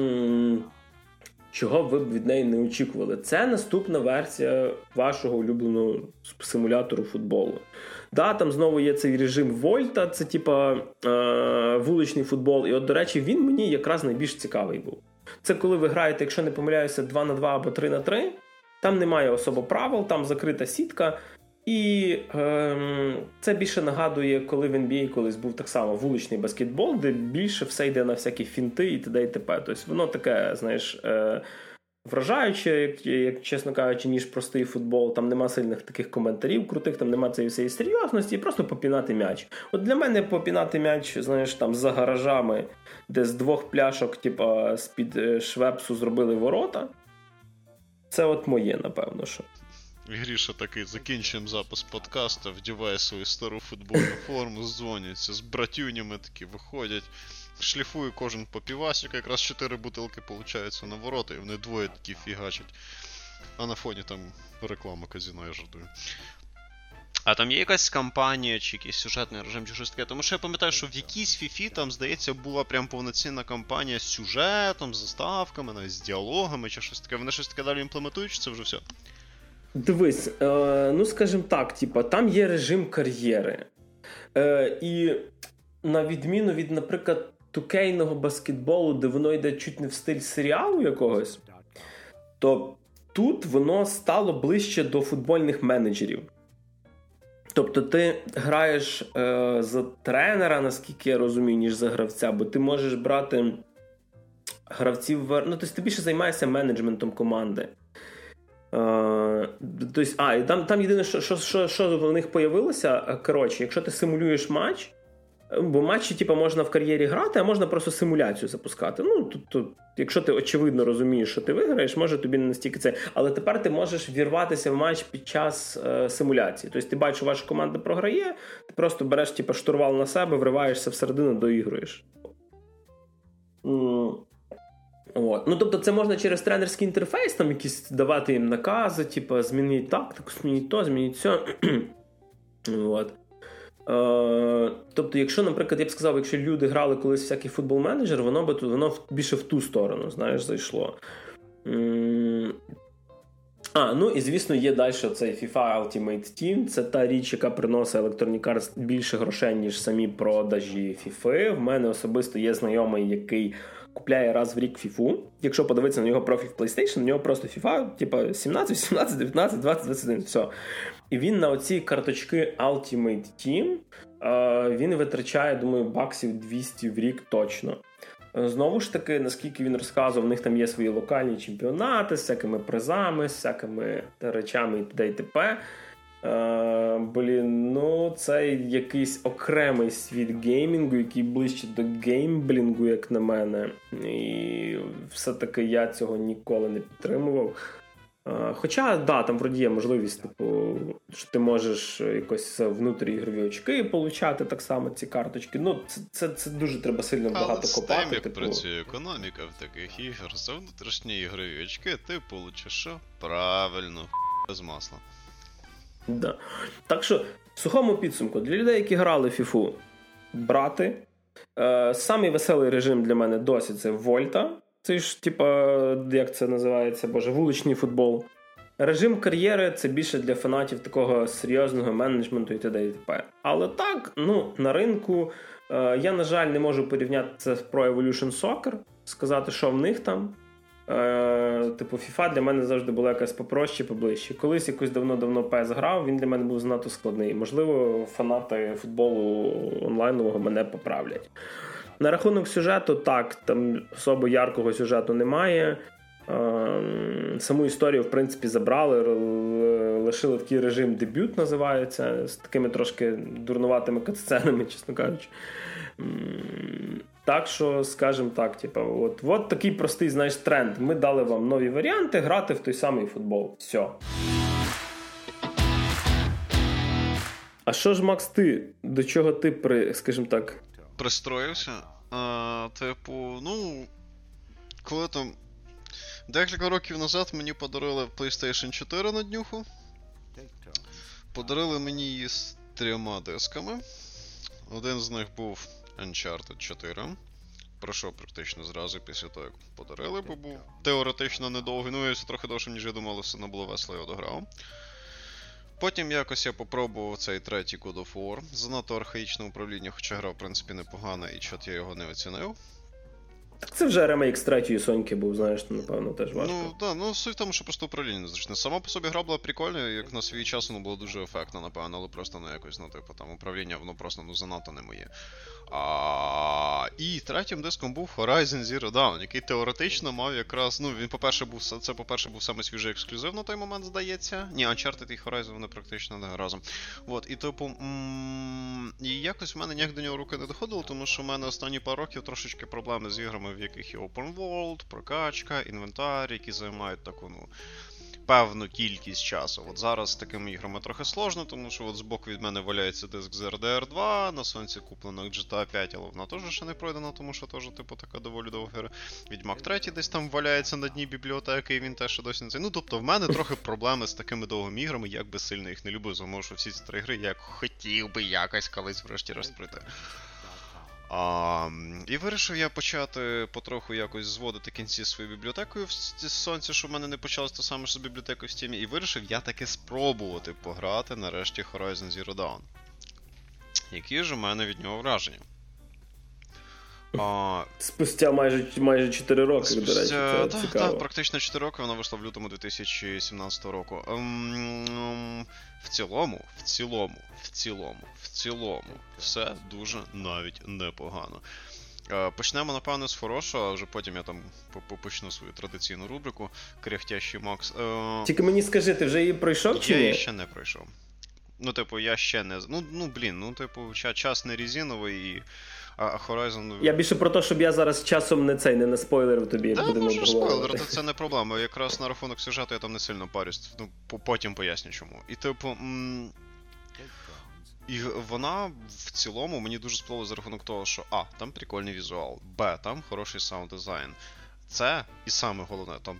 чого ви б від неї не очікували. Це наступна версія вашого улюбленого симулятору футболу. Да, там знову є цей режим Вольта, це вуличний футбол. І от, до речі, він мені якраз найбільш цікавий був. Це коли ви граєте, якщо не помиляюся, 2-2 або 3-3. Там немає особо правил, там закрита сітка. І це більше нагадує, коли в NBA колись був так само вуличний баскетбол, де більше все йде на всякі фінти і т.д. і т.п. Тобто воно таке, знаєш, вражаюче, як чесно кажучи, ніж простий футбол. Там нема сильних таких коментарів крутих, там нема цієї всієї серйозності, просто попінати м'яч. От для мене попінати м'яч, знаєш, там за гаражами, де з 2 пляшок, з-під швепсу зробили ворота. Це от моє, напевно, що. Гріша такий, закінчуємо запис подкасту, вдіває свою стару футбольну форму, дзвоняться з братюнями, такі виходять, шліфує кожен по півасику, якраз 4 бутилки получаються на ворота, і вони двоє такі фігачать. А на фоні там реклама казино, я жартую. А там є якась кампанія, чи якийсь сюжетний режим, чи щось таке? Тому що я пам'ятаю, що в якійсь фіфі там, здається, була прям повноцінна кампанія з сюжетом, з заставками, навіть з діалогами, чи щось таке. Вони щось таке далі імплементують, чи це вже все? Дивись, ну скажімо так, типа, там є режим кар'єри. І на відміну від, наприклад, тукейного баскетболу, де воно йде чуть не в стиль серіалу якогось, то тут воно стало ближче до футбольних менеджерів. Тобто ти граєш за тренера, наскільки я розумію, ніж за гравця, бо ти можеш брати гравців... Ну, тобто ти більше займаєшся менеджментом команди. І там єдине, що в них появилося, коротше, якщо ти симулюєш матч, бо матчі типу, можна в кар'єрі грати, а можна просто симуляцію запускати. Ну, тут, якщо ти очевидно розумієш, що ти виграєш, може тобі не настільки це. Але тепер ти можеш вірватися в матч під час симуляції. Тобто ти бачиш, що ваша команда програє, ти просто береш типу, штурвал на себе, вриваєшся всередину, доігруєш. От. Ну, тобто це можна через тренерський інтерфейс там якісь давати їм накази, типу, змініть тактику, змініть то, змініть все. От. Тобто, якщо, наприклад, я б сказав, якщо люди грали колись всякий футбол-менеджер, воно більше в ту сторону, знаєш, зайшло. Ну і, звісно, є далі цей FIFA Ultimate Team. Це та річ, яка приносить Electronic Arts більше грошей, ніж самі продажі FIFA. В мене особисто є знайомий, який купляє раз в рік FIFA. Якщо подивитися на його профіль в PlayStation, у нього просто FIFA, типу 17, 18, 19, 20, 21, все. І він на оці карточки Ultimate Team, він витрачає, думаю, баксів 200 в рік точно. Знову ж таки, наскільки він розказував, в них там є свої локальні чемпіонати з всякими призами, з всякими речами і т.д. і т.п. Це якийсь окремий світ геймінгу, який ближче до геймблінгу, як на мене. І все-таки я цього ніколи не підтримував. Хоча, там вроді є можливість, типу, що ти можеш якось внутріігрові очки получати так само ці карточки. Ну, це дуже треба сильно багато копати. Але з тим, як працює економіка в таких ігор, за внутрішні ігрові очки ти получиш що? Правильно, без масла. Да. Так що, в сухому підсумку, для людей, які грали в FIFA, брати. Самий веселий режим для мене досі це Вольта. Це ж, як це називається, вуличний футбол. Режим кар'єри – це більше для фанатів такого серйозного менеджменту і т.д. і т.п. Але так, на ринку я, на жаль, не можу порівняти це з Pro Evolution Soccer, сказати, що в них там. FIFA для мене завжди була якась попроще, поближче. Колись якось давно PES грав, він для мене був занадто складний. Можливо, фанати футболу онлайнового мене поправлять. На рахунок сюжету, так, там особо яркого сюжету немає. Саму історію, в принципі, забрали, лишили такий режим дебют, називається, з такими трошки дурнуватими катсценами, чесно кажучи. Так що, скажімо так, от такий простий, знаєш, тренд. Ми дали вам нові варіанти грати в той самий футбол. Все. А що ж, Макс, ти? До чого ти, скажімо так... Пристроївся? Коли там... Декілька років назад мені подарили PlayStation 4 на днюху. Подарили мені її з 3 дисками. Один з них був Uncharted 4. Пройшов практично зразу після того, як подарили, бо був теоретично недовгий. Ну, і трохи довше, ніж я думав, але все одно було весело, я дограв. Потім якось я попробував цей третій God of War. Занадто архаїчне управління, хоча гра, в принципі, непогана, і чот я його не оцінив. Так це вже ремейк з третьої Соньки був, знаєш, напевно, теж важко. Суть в тому, що просто управління незручне. Сама по собі гра була прикольна, як на свій час воно було дуже ефектно, напевно, але просто якось, там управління, воно просто, занадто не моє. І третім диском був Horizon Zero Dawn, який теоретично мав якраз, він, по-перше, був саме свіжий ексклюзив на той момент, здається. Ні, Uncharted і Horizon вони практично не разом. І якось в мене ніяк до нього руки не доходило, тому що в мене останні пару років трошечки проблеми з іграми, в яких є open world, прокачка, інвентар, які займають таку, певну кількість часу. От зараз з такими іграми трохи сложно, тому що от збоку від мене валяється диск з RDR 2, на сонці куплена GTA 5, але вона теж ще не пройдена, тому що теж, така доволі довга гра. Відьмак 3 десь там валяється на дні бібліотеки, і він теж ще досі не цей. Тобто в мене трохи проблеми з такими довгими іграми, як би сильно їх не любив, тому що всі ці 3 гри я хотів би якось колись врешті-решт пройти. І вирішив я почати потроху якось зводити кінці своєю бібліотекою в сонці, щоб в мене не почалось те саме, що з бібліотекою в Steam. І вирішив я таки спробувати пограти нарешті Horizon Zero Dawn. Які ж у мене від нього враження? Спустя майже 4 роки, до речі, це цікаво. Так, практично 4 роки, вона вийшла в лютому 2017 року. В цілому, все дуже навіть непогано. Почнемо, напевно, з хорошого, а вже потім я там почну свою традиційну рубрику «Кряхтящий Макс». Тільки мені скажи, ти вже її пройшов чи ні? Я її ще не пройшов. Я ще не... час не резиновий, а Horizon... Я більше про те, щоб я зараз часом не наспойлерив тобі, як будемо обговорювати. Так, можеш спойлерити, це не проблема. Якраз на рахунок сюжету я там не сильно парюсь. Потім поясню чому. І вона в цілому мені дуже сподобалась за рахунок того, що там прикольний візуал, там хороший саунд-дизайн. Це, і саме головне, там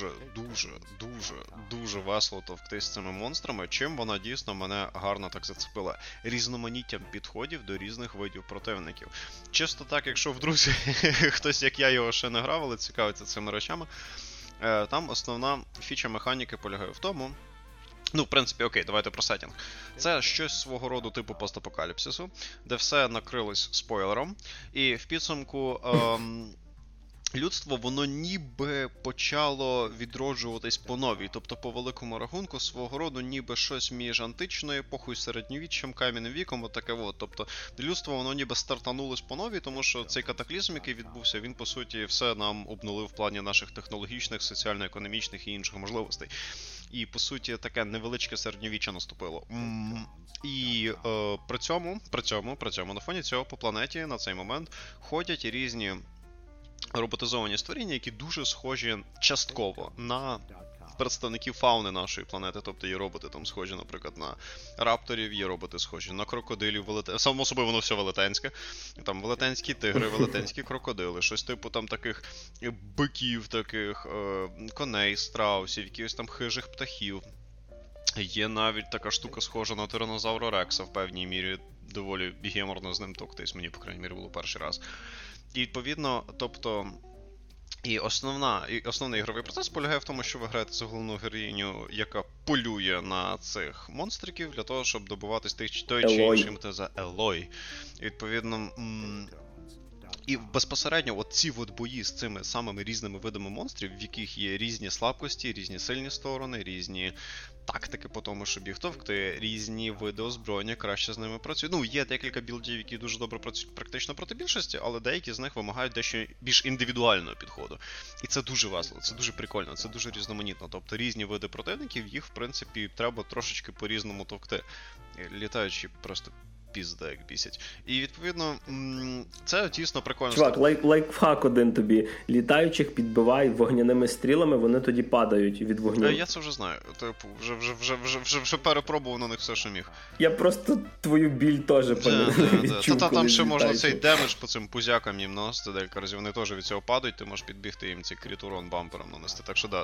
дуже весело товктись з цими монстрами, чим вона дійсно мене гарно так зацепила. Різноманіттям підходів до різних видів противників. Чисто так, якщо в друзі хтось, як я, його ще не грав, але цікавиться цими речами, там основна фіча механіки полягає в тому, в принципі, окей, давайте про сеттінг. Це щось свого роду типу постапокаліпсису, де все накрилось спойлером, і в підсумку... людство, воно ніби почало відроджуватись по новій, тобто по великому рахунку свого роду ніби щось між античною епохою, середньовіччям, кам'яним віком, отаке от. Тобто людство, воно ніби стартанулось по новій, тому що цей катаклізм, який відбувся, він, по суті, все нам обнулив в плані наших технологічних, соціально-економічних і інших можливостей. І, по суті, таке невеличке середньовіччя наступило. І при цьому, на фоні цього по планеті на цей момент ходять різні роботизовані створіння, які дуже схожі частково на представників фауни нашої планети. Тобто є роботи там схожі, наприклад, на рапторів, є роботи схожі на крокодилів, само собою воно все велетенське. Там велетенські тигри, велетенські крокодили, щось типу там таких биків, таких коней, страусів, якихось там хижих птахів. Є навіть така штука схожа на тиранозавра Рекса в певній мірі, доволі геморно з ним токтись, мені, по крайній мірі, було перший раз. І, відповідно, тобто, основний ігровий процес полягає в тому, що ви граєте за головну героїню, яка полює на цих монстриків для того, щоб добуватись той чи іншим за Елой. І, відповідно, і безпосередньо ці бої з цими самими різними видами монстрів, в яких є різні слабкості, різні сильні сторони, різні тактики по тому, щоб їх товкти, різні види озброєння краще з ними працюють. Є декілька білдів, які дуже добре працюють практично проти більшості, але деякі з них вимагають дещо більш індивідуального підходу. І це дуже весело, це дуже прикольно, це дуже різноманітно. Тобто різні види противників, їх, в принципі, треба трошечки по-різному товкти. Літаючи просто пізда, як бісять. І, відповідно, це дійсно прикольно. Чувак, лайфхак один тобі. Літаючих підбивай вогняними стрілами, вони тоді падають від вогню. Я це вже знаю. Типу, вже перепробував на них все, що міг. Я просто твою біль теж відчув. Там ще можна цей демедж по цим пузякам їм наносити декілька разів. Вони теж від цього падають, ти можеш підбігти їм цей кріт-урон бампером нанести. Так що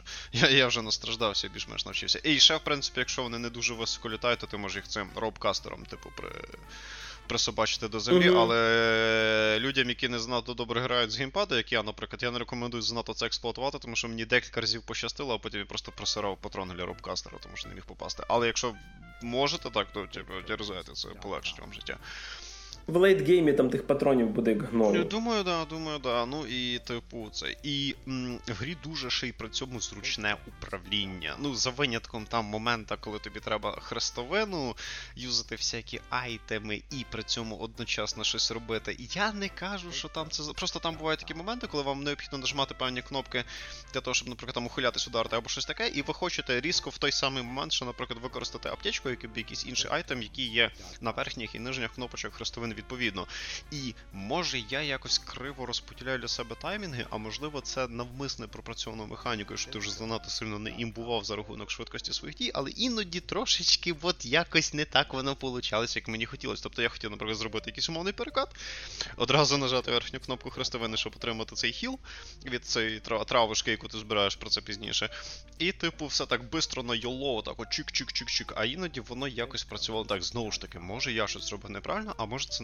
я вже настраждався і більш-менш навчився. І ще, в принципі, якщо вони не дуже високо літають, то ти можеш їх цим робкастером, типу, присобачити до землі, але людям, які не занадто добре грають з геймпада, як я, наприклад, я не рекомендую занадто це експлуатувати, тому що мені декілька разів пощастило, а потім я просто просирав патрон для робкастера, тому що не міг попасти. Але якщо можете так, то дерзайте, це полегшить вам життя. В лейтгеймі там тих патронів буде як гною. Думаю, да. Ну і типу це. І в грі дуже ще й при цьому зручне управління. За винятком там момента, коли тобі треба хрестовину, юзати всякі айтеми і при цьому одночасно щось робити. І я не кажу, що там це... Просто там бувають такі моменти, коли вам необхідно нажимати певні кнопки для того, щоб, наприклад, там ухилятись, ударити або щось таке, і ви хочете різко в той самий момент, що, наприклад, використати аптечку, який б якийсь інший айтем, який є на верхніх і нижніх кнопочок хрестовини відповідно. І може я якось криво розподіляю для себе таймінги, а можливо це навмисне пропрацьовано механікою, що ти вже занадто сильно не імбував за рахунок швидкості своїх дій, але іноді трошечки якось не так воно получалось, як мені хотілося. Тобто я хотів, наприклад, зробити якийсь умовний перекат, одразу нажати верхню кнопку хрестовини, щоб отримати цей хіл від цієї травушки, яку ти збираєш, про це пізніше. І типу все так бистро на йоло, так от чик-чик-чик-чик, а іноді воно якось працювало так, знову ж таки, може я щось зробив неправильно, а може це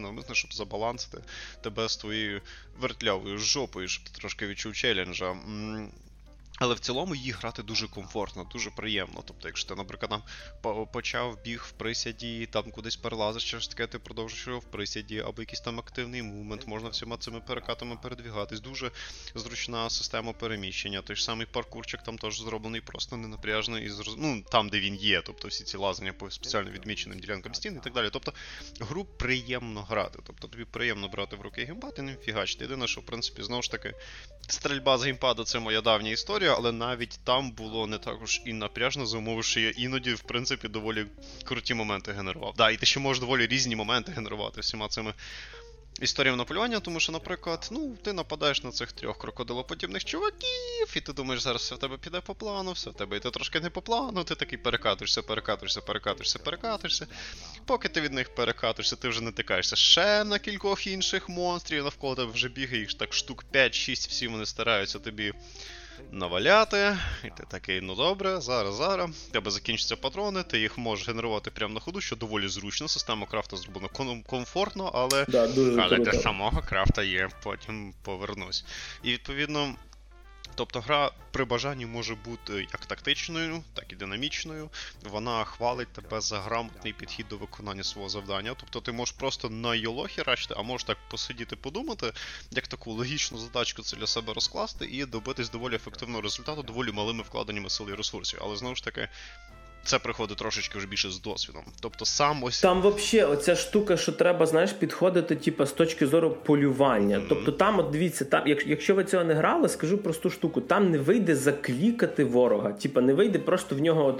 навмисно, щоб забалансити тебе з твоєю вертлявою жопою, щоб ти трошки відчув челенджа. Але в цілому її грати дуже комфортно, дуже приємно. Тобто, якщо ти, наприклад, там почав біг в присяді, там кудись перелазиш, щось таке, ти продовжиш його в присяді, або якийсь там активний мувмент, можна всіма цими перекатами передвігатись. Дуже зручна система переміщення. Той ж самий паркурчик там теж зроблений просто ненапряжно і там, де він є. Тобто всі ці лазання по спеціально відміченим ділянкам стін і так далі. Тобто гру приємно грати. Тобто тобі приємно брати в руки геймпад і ним фігачити. Єдине, що в принципі знову ж таки стрільба з геймпада — це моя давня історія, але навіть там було не також і напряжно, за умови, що я іноді, в принципі, доволі круті моменти генерував. Да, і ти ще можеш доволі різні моменти генерувати всіма цими історіями на полювання, тому що, наприклад, ти нападаєш на цих 3 крокодилоподібних чуваків, і ти думаєш, зараз все в тебе піде по плану, все в тебе йде трошки не по плану, ти такий перекатуєшся, поки ти від них перекатуєшся, ти вже натикаєшся ще на кількох інших монстрів, навколо тебе вже бігає їх так штук 5-6, всі вони стараються тобі наваляти, і ти такий, ну добре, зараз, в тебе закінчаться патрони, ти їх можеш генерувати прямо на ходу, що доволі зручно, система крафта зроблена комфортно, але для самого крафта є, потім повернусь. І відповідно, тобто гра при бажанні може бути як тактичною, так і динамічною. Вона хвалить тебе за грамотний підхід до виконання свого завдання. Тобто ти можеш просто на йоло херачити, а можеш так посидіти, подумати, як таку логічну задачку це для себе розкласти і добитись доволі ефективного результату доволі малими вкладеннями сил і ресурсів. Але знову ж таки, це приходить трошечки вже більше з досвідом. Тобто сам ось... Там взагалі оця штука, що треба, знаєш, підходити з точки зору полювання. Тобто там, от дивіться, там, якщо ви цього не грали, скажу просту штуку, там не вийде заклікати ворога. Не вийде просто в нього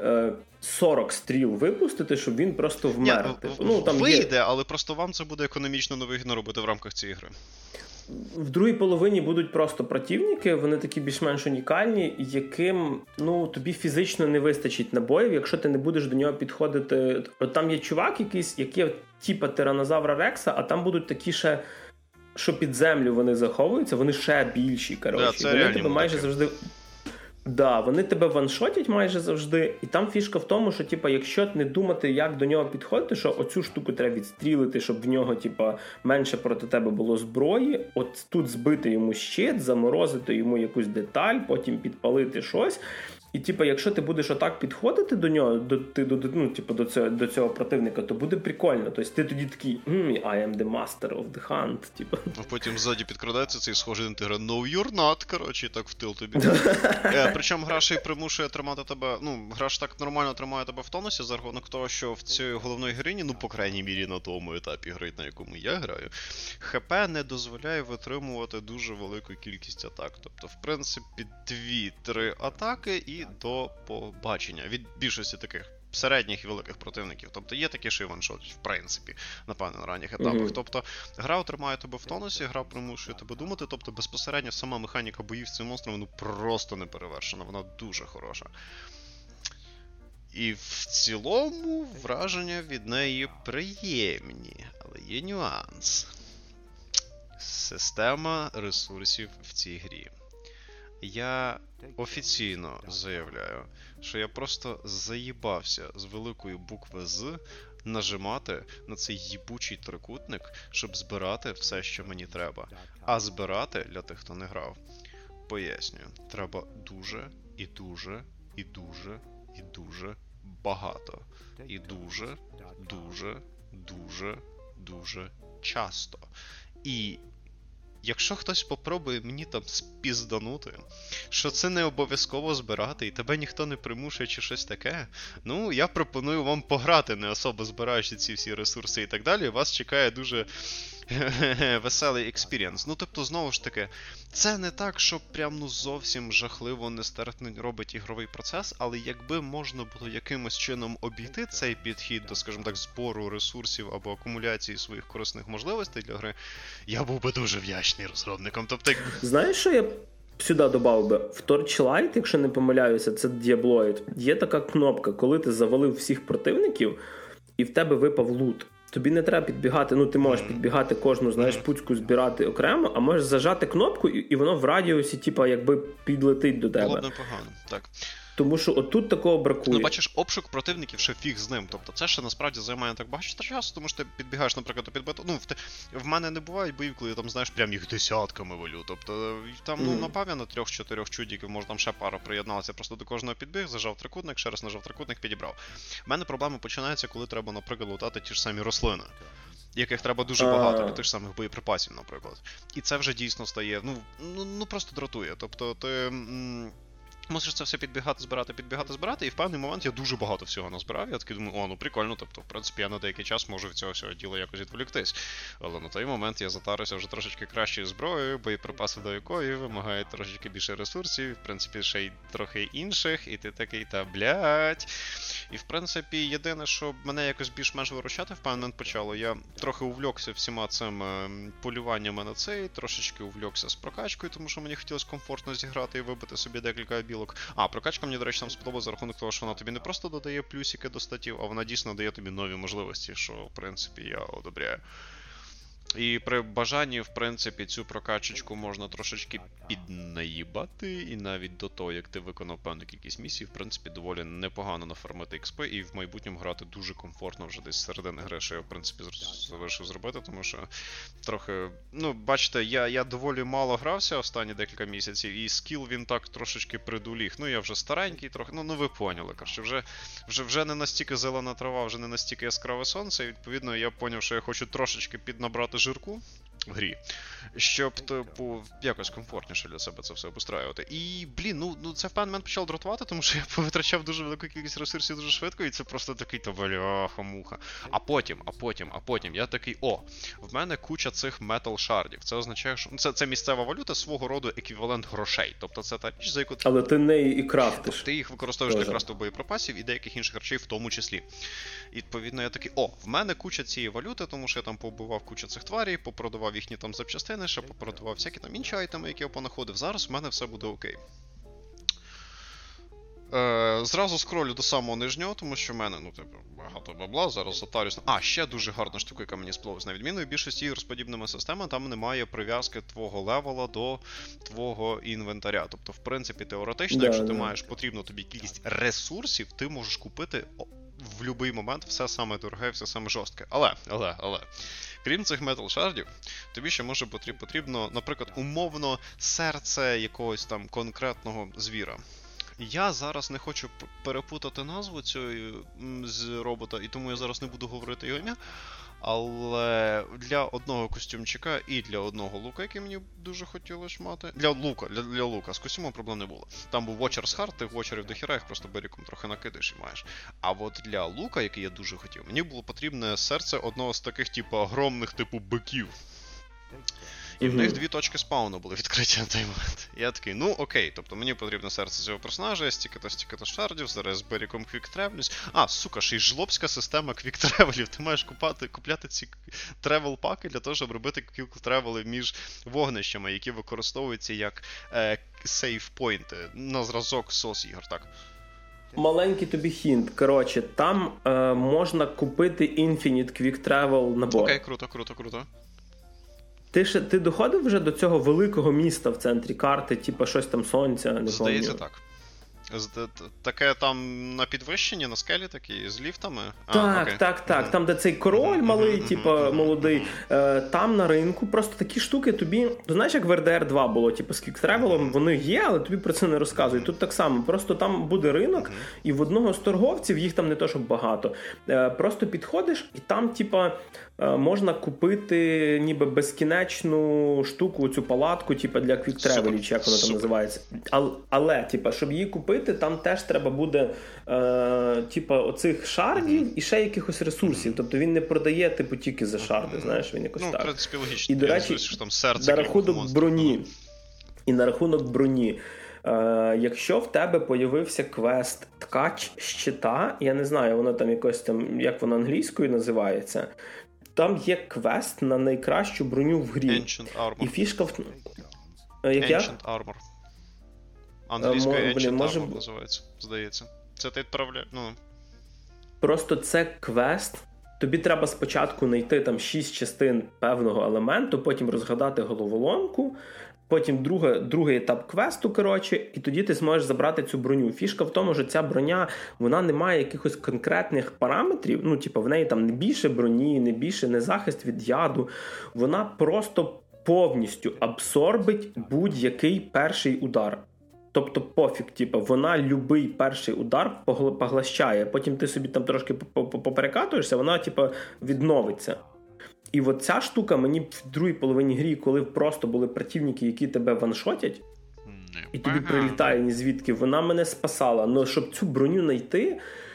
40 стріл випустити, щоб він просто вмер. Вийде, але просто вам це буде економічно невигідно робити в рамках цієї гри. В другій половині будуть просто противники, вони такі більш-менш унікальні, яким, тобі фізично не вистачить набоїв, якщо ти не будеш до нього підходити. От там є чувак якийсь, який типа тиранозавра Рекса, а там будуть такі ще, що під землю вони заховуються, вони ще більші, коротше. Да, вони тебе майже завжди... Да, вони тебе ваншотять майже завжди, і там фішка в тому, що, якщо не думати, як до нього підходити, що оцю штуку треба відстрілити, щоб в нього, менше проти тебе було зброї, от тут збити йому щит, заморозити йому якусь деталь, потім підпалити щось. І, якщо ти будеш отак підходити до нього, до цього противника, то буде прикольно. Тобто ти тоді такий, I am the master of the hunt, А потім ззаді підкрадається цей схожий інтегра, no you're not, коротше, і так в тил тобі. Причому гра ще й примушує тримати тебе, гра ж так нормально тримає тебе в тонусі, за рахунок того, що в цій головної героїні, по крайній мірі на тому етапі гри, на якому я граю, ХП не дозволяє витримувати дуже велику кількість атак. Тобто, в принципі, 2-3 атаки і до побачення від більшості таких середніх і великих противників. Тобто є такі, що і ваншотять, в принципі, напевно, на ранніх етапах. Тобто гра тримає тебе в тонусі, гра примушує тебе думати, тобто безпосередньо сама механіка боїв з цим монстром, просто не перевершена, вона дуже хороша. І в цілому враження від неї приємні, але є нюанс. Система ресурсів в цій грі. Я офіційно заявляю, що я просто заїбався з великої букви «З» нажимати на цей їбучий трикутник, щоб збирати все, що мені треба. А збирати, для тих, хто не грав, пояснюю, треба дуже, і дуже, і дуже, і дуже багато. І дуже, дуже, дуже, дуже часто. І якщо хтось попробує мені там спізданути, що це не обов'язково збирати, і тебе ніхто не примушує чи щось таке, я пропоную вам пограти, не особо збираючи ці всі ресурси і так далі, вас чекає дуже веселий експірієнс. Тобто, знову ж таки, це не так, що прям зовсім жахливо нестерпно робить ігровий процес, але якби можна було якимось чином обійти цей підхід до, скажімо так, збору ресурсів або акумуляції своїх корисних можливостей для гри, я був би дуже вдячний розробникам. Тобто, знаєш, що я сюди додав би? В Torchlight, якщо не помиляюся, це Diabloid, є така кнопка, коли ти завалив всіх противників і в тебе випав лут. Тобі не треба підбігати, ти можеш підбігати кожну, пуцьку збирати окремо, а можеш зажати кнопку, і воно в радіусі, якби підлетить до тебе. Було б непогано, так. Тому що отут такого бракує. Ну, бачиш, обшук противників ще фіг з ним. Тобто це ще насправді займає так багато часу, тому що ти підбігаєш, наприклад, до підбиту. Ну, в мене не бувають боїв, коли я там, знаєш, прям їх десятками валю. Тобто там, ну, напевно, на 3-4 чудіків, може там ще пара приєдналася, просто до кожного підбіг, зажав трикутник, ще раз нажав трикутник, підібрав. У мене проблеми починаються, коли треба, наприклад, лутати ті ж самі рослини, яких треба дуже багато, для тих ж самих боєприпасів, наприклад. І це вже дійсно стає, ну просто дратує. Тобто ти мусиш це все збирати, і в певний момент я дуже багато всього назбирав. Я такий думаю, ну прикольно, тобто, в принципі, я на деякий час можу від цього всього діла якось відволіктись. Але на той момент я затарився вже трошечки кращою зброєю, боєприпаси до якої вимагають трошечки більше ресурсів, в принципі, ще й трохи інших, і ти такий, блядь. І, в принципі, єдине, що мене якось більш-менш виручати в певний момент почало, я трохи увлекся всіма цими полюваннями на цей, трошечки увлекся з прокачкою, тому що мені хотілося комфортно зіграти і вибити собі декілька білок. Прокачка мені, до речі, там сподобалася за рахунок того, що вона тобі не просто додає плюсики до статів, а вона дійсно дає тобі нові можливості, що, в принципі, я одобряю. І при бажанні, в принципі, цю прокачечку можна трошечки піднаїбати, і навіть до того, як ти виконав певну кількість місій, в принципі, доволі непогано нафармити XP, і в майбутньому грати дуже комфортно вже десь з середини гри, що я, в принципі, вирішив зробити, тому що трохи, бачите, я доволі мало грався останні декілька місяців, і скіл він так трошечки придуліг. Я вже старенький трохи, ви поняли, коротше, вже не настільки зелена трава, вже не настільки яскраве сонце, і, відповідно, я поняв, що я хочу трошечки піднабрати жирку в грі, щоб, типу, якось комфортніше для себе це все обустраювати. І, це в певний момент почало дратувати, тому що я повитрачав дуже велику кількість ресурсів дуже швидко, і це просто такий, бляха-муха. А потім я такий, в мене куча цих метал-шардів. Це означає, що це місцева валюта, свого роду еквівалент грошей. Тобто це та річ, за яку але ти неї і крафтиш. Ти їх використовуєш для крафту боєприпасів і деяких інших речей в тому числі. І, відповідно, я такий, в мене куча цієї валюти, тому що я там побивав кучу цих тварей, попродавав їхні там запчастини, ще попродавав всякі там інші айтеми, які я понаходив. Зараз в мене все буде окей. Зразу скролю до самого нижнього, тому що в мене, багато бабла, зараз затарюсь. Ще дуже гарна штука, яка мені сподобалась. На відміну від більшості ігор з подібними системами, там немає прив'язки твого левела до твого інвентаря. Тобто, в принципі, теоретично, якщо ти маєш потрібну тобі кількість ресурсів, ти можеш купити в будь-який момент все саме дороге, все саме жорстке. Але, крім цих метал-шардів, тобі ще може потрібно, наприклад, умовно серце якогось там конкретного звіра. Я зараз не хочу перепутати назву цього з робота, і тому я зараз не буду говорити його ім'я. Але для одного костюмчика і для одного лука, який мені дуже хотілося мати. Для лука з костюмом проблем не було. Там був Watcher's Heart, тих Watcherів до хіра, їх просто беріком трохи накидаєш і маєш. А от для лука, який я дуже хотів, мені було потрібне серце одного з таких, огромних, биків. І в них 2 точки спауну були відкриті на той момент. Я такий, окей, тобто мені потрібно серце цього персонажа, стільки-то шардів, зараз з беріком квік-тревлюсь. Ще й жлобська система квік-тревелів. Ти маєш купляти ці тревел-паки для того, щоб робити квік-тревели між вогнищами, які використовуються як сейф-пойнти на зразок сос-ігор, так? Маленький тобі хінт. Коротше, там можна купити Infinite Quick Travel набор. Окей, круто. Ти доходив вже до цього великого міста в центрі карти, щось там сонця, не Здається, так. Таке там на підвищенні, на скелі такі, з ліфтами? Так. Там, де цей король малий, молодий. Там на ринку просто такі штуки тобі... Ти знаєш, як в RDR 2 було, з квіктревелом, вони є, але тобі про це не розказують. Тут так само. Просто там буде ринок, і в одного з торговців, їх там не то, щоб багато. Просто підходиш, і там, можна купити ніби безкінечну штуку, цю палатку, для квіктревелів, чи як воно там називається. Але, щоб її купити, там теж треба буде оцих шардів і ще якихось ресурсів. Тобто він не продає тільки за шарди, знаєш, він якось так. В принципі, логічно. І, до речі, що там серце, на рахунок броні. Якщо в тебе появився квест «Ткач щита», я не знаю, воно там якось там, як воно англійською називається, там є квест на найкращу броню в грі. Ancient Armor. І фішка в... Ancient Armor. Англійською Ancient Armor називається, здається. Це ти відправляєш, Просто це квест. Тобі треба спочатку знайти там 6 частин певного елементу, потім розгадати головоломку, потім другий етап квесту, коротше, і тоді ти зможеш забрати цю броню. Фішка в тому, що ця броня, вона не має якихось конкретних параметрів, ну, типу, в неї там не більше броні, не захист від яду, вона просто повністю абсорбить будь-який перший удар. Тобто пофіг, типу, вона любий перший удар поглощає, потім ти собі там трошки поперекатуєшся, вона, типу, відновиться. І от ця штука мені в другій половині грі, коли просто були противники, які тебе ваншотять, і тобі прилітає ні звідки, вона мене спасала. Но щоб цю броню знайти,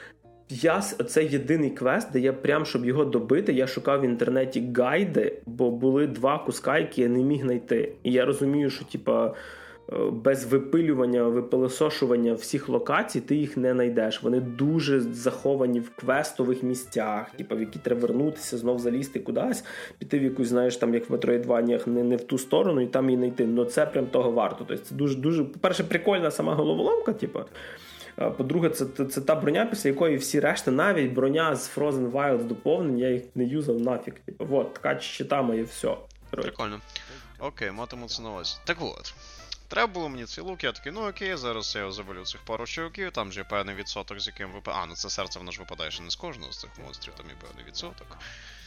це єдиний квест, де я прям, щоб його добити, я шукав в інтернеті гайди, бо були 2 куска, які я не міг знайти. І я розумію, що, типа, без випилювання, випилосошування всіх локацій ти їх не знайдеш. Вони дуже заховані в квестових місцях, типу, в які треба вернутися, знов залізти кудись, піти в якусь, знаєш, там, як в Метроїдваніях, не в ту сторону і там її знайти. Но це прям того варто. Тобто це дуже, по-перше, прикольна сама головоломка, типу. По-друге, це та броня, після якої всі решта, навіть броня з Frozen Wilds доповнень, я їх не юзав нафіг. Типу, от, така щита моє, все. Прикольно. Окей, матиму це на увазі. Так от. Треба було мені цей лук, я такий, ну окей, зараз я завалю цих пару чуваків, там же є певний відсоток, з яким випадає. Ну це серце, воно ж випадає ще не з кожного з цих монстрів, там є певний відсоток.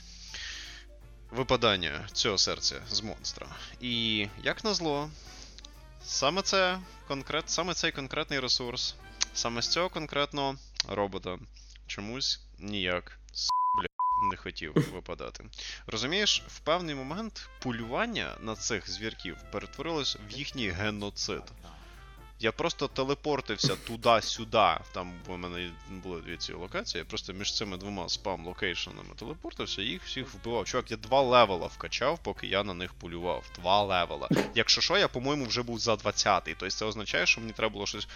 Випадання цього серця з монстра. І, як назло, саме цей конкретний ресурс, саме з цього конкретного робота чомусь ніяк не хотів випадати. Розумієш, в певний момент полювання на цих звірків перетворилось в їхній геноцид. Я просто телепортився туди-сюди, там у мене були 2 ці локації, я просто між цими 2 спам-локейшенами телепортився і їх всіх вбивав. Чувак, я 2 левела вкачав, поки я на них полював. 2 левела. Якщо що, я, по-моєму, вже був за 20-й. Тобто це означає, що мені треба було щось...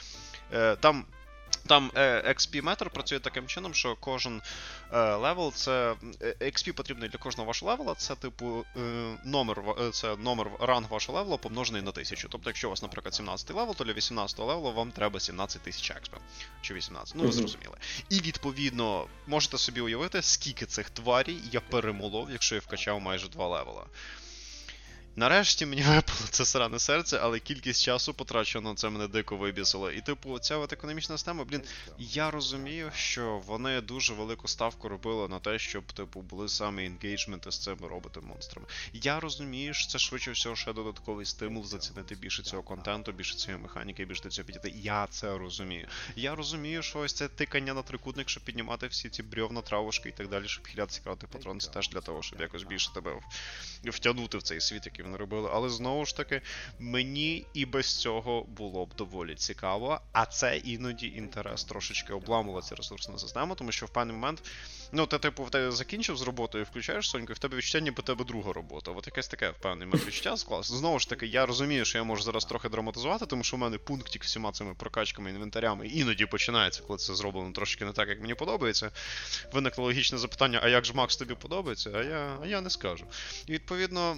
Там XP-метр працює таким чином, що кожен левел, це XP потрібний для кожного вашого левела, це типу номер ранг вашого левела помножений на 1000. Тобто, якщо у вас, наприклад, 17 левел, то для 18 левелу вам треба 17 тисяч XP. Чи 18, ну ви зрозуміли. І відповідно, можете собі уявити, скільки цих тварій я перемолов, якщо я вкачав майже 2 левела. Нарешті мені випало це сране серце, але кількість часу потрачено на це мене дико вибісило. І типу, ця от економічна система, я розумію, що вони дуже велику ставку робили на те, щоб, типу, були саме енгейджменти з цими роботами-монстрами. Я розумію, що це швидше всього ще додатковий стимул зацінити більше цього контенту, більше цієї механіки, більше до цього підійти. Я це розумію. Я розумію, що ось це тикання на трикутник, щоб піднімати всі ці брьовна, травушки і так далі, щоб хилятися крати патрон, це теж для того, щоб якось більше тебе втягнути в цей світ, який вони робили, але знову ж таки, мені і без цього було б доволі цікаво, а це іноді інтерес трошечки обламувала ця ресурсна система, тому що в певний момент, ну, ти, типу, закінчив з роботою, включаєш Соньку, і в тебе відчуття, ніби тебе друга робота. От якесь таке в певний момент відчуття склалося. Знову ж таки, я розумію, що я можу зараз трохи драматизувати, тому що в мене пунктик всіма цими прокачками, інвентарями іноді починається, коли це зроблено трошки не так, як мені подобається. Виникло логічне запитання, а як ж, Макс, тобі подобається? А я не скажу. І відповідно,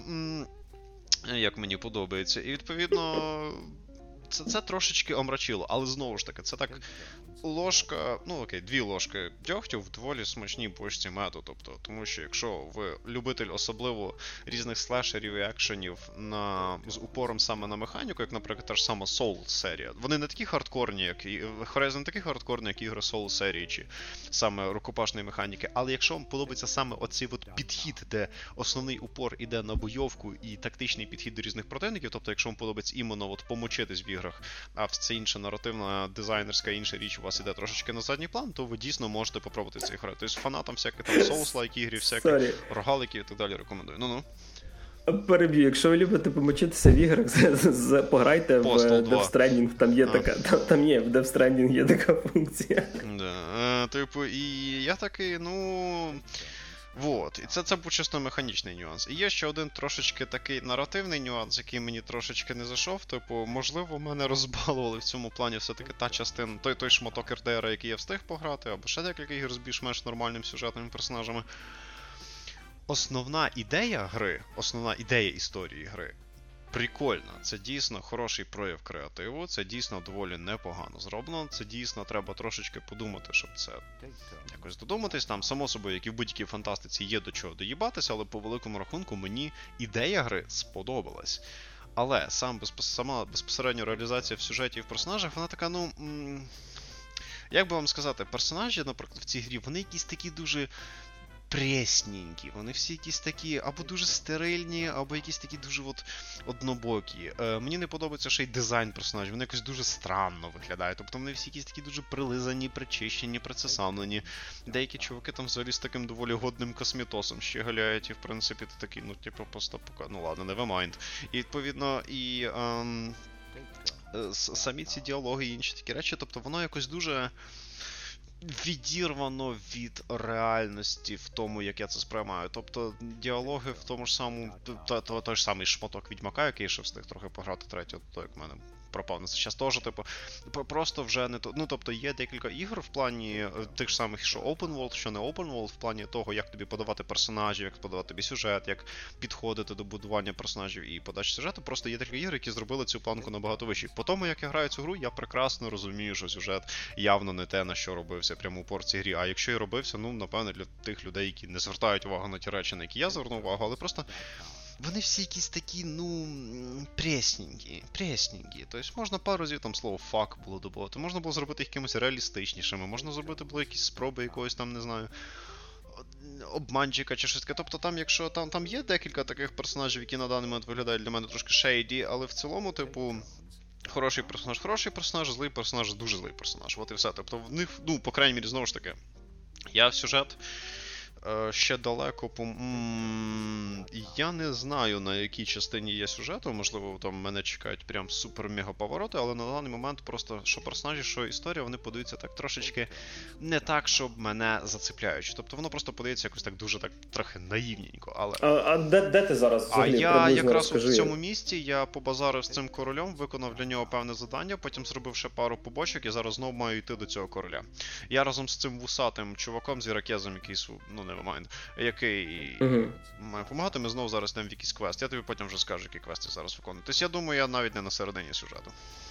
як мені подобається. І відповідно, це трошечки омрачило, але знову ж таки, це так ложка, ну окей, 2 ложки дьогтю в доволі смачній бочці меду, тобто, тому що якщо ви любитель особливо різних слешерів і екшенів з упором саме на механіку, як, наприклад, та ж сама Souls-серія, вони не такі хардкорні, як і Horizon не такі хардкорні, як ігри Souls-серії, чи саме рукопашної механіки, але якщо вам подобається саме оцей от підхід, де основний упор іде на бойовку і тактичний підхід до різних противників, тобто якщо вам подобається іменно от помочитись в іграх, а це інша наративна, дизайнерська, інша річ у вас іде трошечки на задній план, то ви дійсно можете попробувати ці ігри. Тобто фанатам всяких там Souls-like ігри, всяких рогаликів і так далі рекомендую. Ну-ну. Переб'ю, якщо ви любите помочитися в іграх, пограйте в Death Stranding, там є така, там є, в Death Stranding є така функція. Да, типу, і я такий, ну... Вот, і це був чисто механічний нюанс. І є ще один трошечки такий наративний нюанс, який мені трошечки не зайшов. Типу, можливо, мене розбалували в цьому плані все-таки та частина, той шматок РДР, який я встиг пограти, або ще декілька ігор з більш-менш нормальними сюжетними персонажами. Основна ідея гри, основна ідея історії гри прикольна. Це дійсно хороший прояв креативу, це дійсно доволі непогано зроблено, це дійсно треба трошечки подумати, щоб це якось додуматись. Там, само собою, як і в будь-якій фантастиці, є до чого доїбатися, але по великому рахунку мені ідея гри сподобалась. Але сама безпосередньо реалізація в сюжеті і в персонажах, вона така, як би вам сказати, персонажі, наприклад, в цій грі, вони якісь такі дуже пресненькі, вони всі якісь такі або дуже стерильні, або якісь такі дуже однобокі. Мені не подобається ще й дизайн персонажів, вони якось дуже странно виглядають, тобто вони всі якісь такі дуже прилизані, причищені, прицесамлені. Деякі чуваки там взагалі з таким доволі годним косметосом ще галяють, і в принципі ти такий, просто ладно, never mind. І відповідно, самі ці діалоги і інші такі речі, тобто воно якось дуже відірвано від реальності в тому, як я це сприймаю. Тобто діалоги в тому ж самому, той ж самий шматок Відьмака, який ще встиг трохи пограти третього, то як в мене пропав на це час теж, просто вже не то. Тобто є декілька ігор в плані тих ж самих, що Open World, що не Open World, в плані того, як тобі подавати персонажів, як подавати тобі сюжет, як підходити до будування персонажів і подачі сюжету. Просто є декілька ігор, які зробили цю планку набагато вищою. По тому, як я граю цю гру, я прекрасно розумію, що сюжет явно не те, на що робився прямо упор в цій грі. А якщо і робився, напевно, для тих людей, які не звертають увагу на ті речі, на які я звернув увагу, але просто вони всі якісь такі, пресненькі. Тобто можна пару разів там слово «фак» було додати, можна було зробити їх якимось реалістичнішими, можна зробити було якісь спроби якогось там, не знаю, обманчика чи щось таке. Тобто там, якщо там є декілька таких персонажів, які на даний момент виглядають для мене трошки шейді, але в цілому, хороший персонаж, злий персонаж, дуже злий персонаж. От і все. Тобто в них, по крайній мірі, знову ж таки, я в сюжет ще далеко, я не знаю, на якій частині є сюжету, можливо, там мене чекають прям супер-мега-повороти, але на даний момент просто, що персонажі, що історія, вони подаються так трошечки не так, щоб мене зацепляють. Тобто воно просто подається якось так дуже, так трохи наївненько, але... А де ти зараз взагалі? Я якраз в цьому місці, я побазарив з цим королем, виконав для нього певне завдання, потім зробив ще пару побочок, і зараз знову маю йти до цього короля. Я разом з цим вусатим чуваком, з ірокезом, який, nevermind, який має допомагати, ми знову зараз йдемо в якийсь квест. Я тобі потім вже скажу, який квест я зараз виконую. Тобто я думаю, я навіть не на середині сюжету.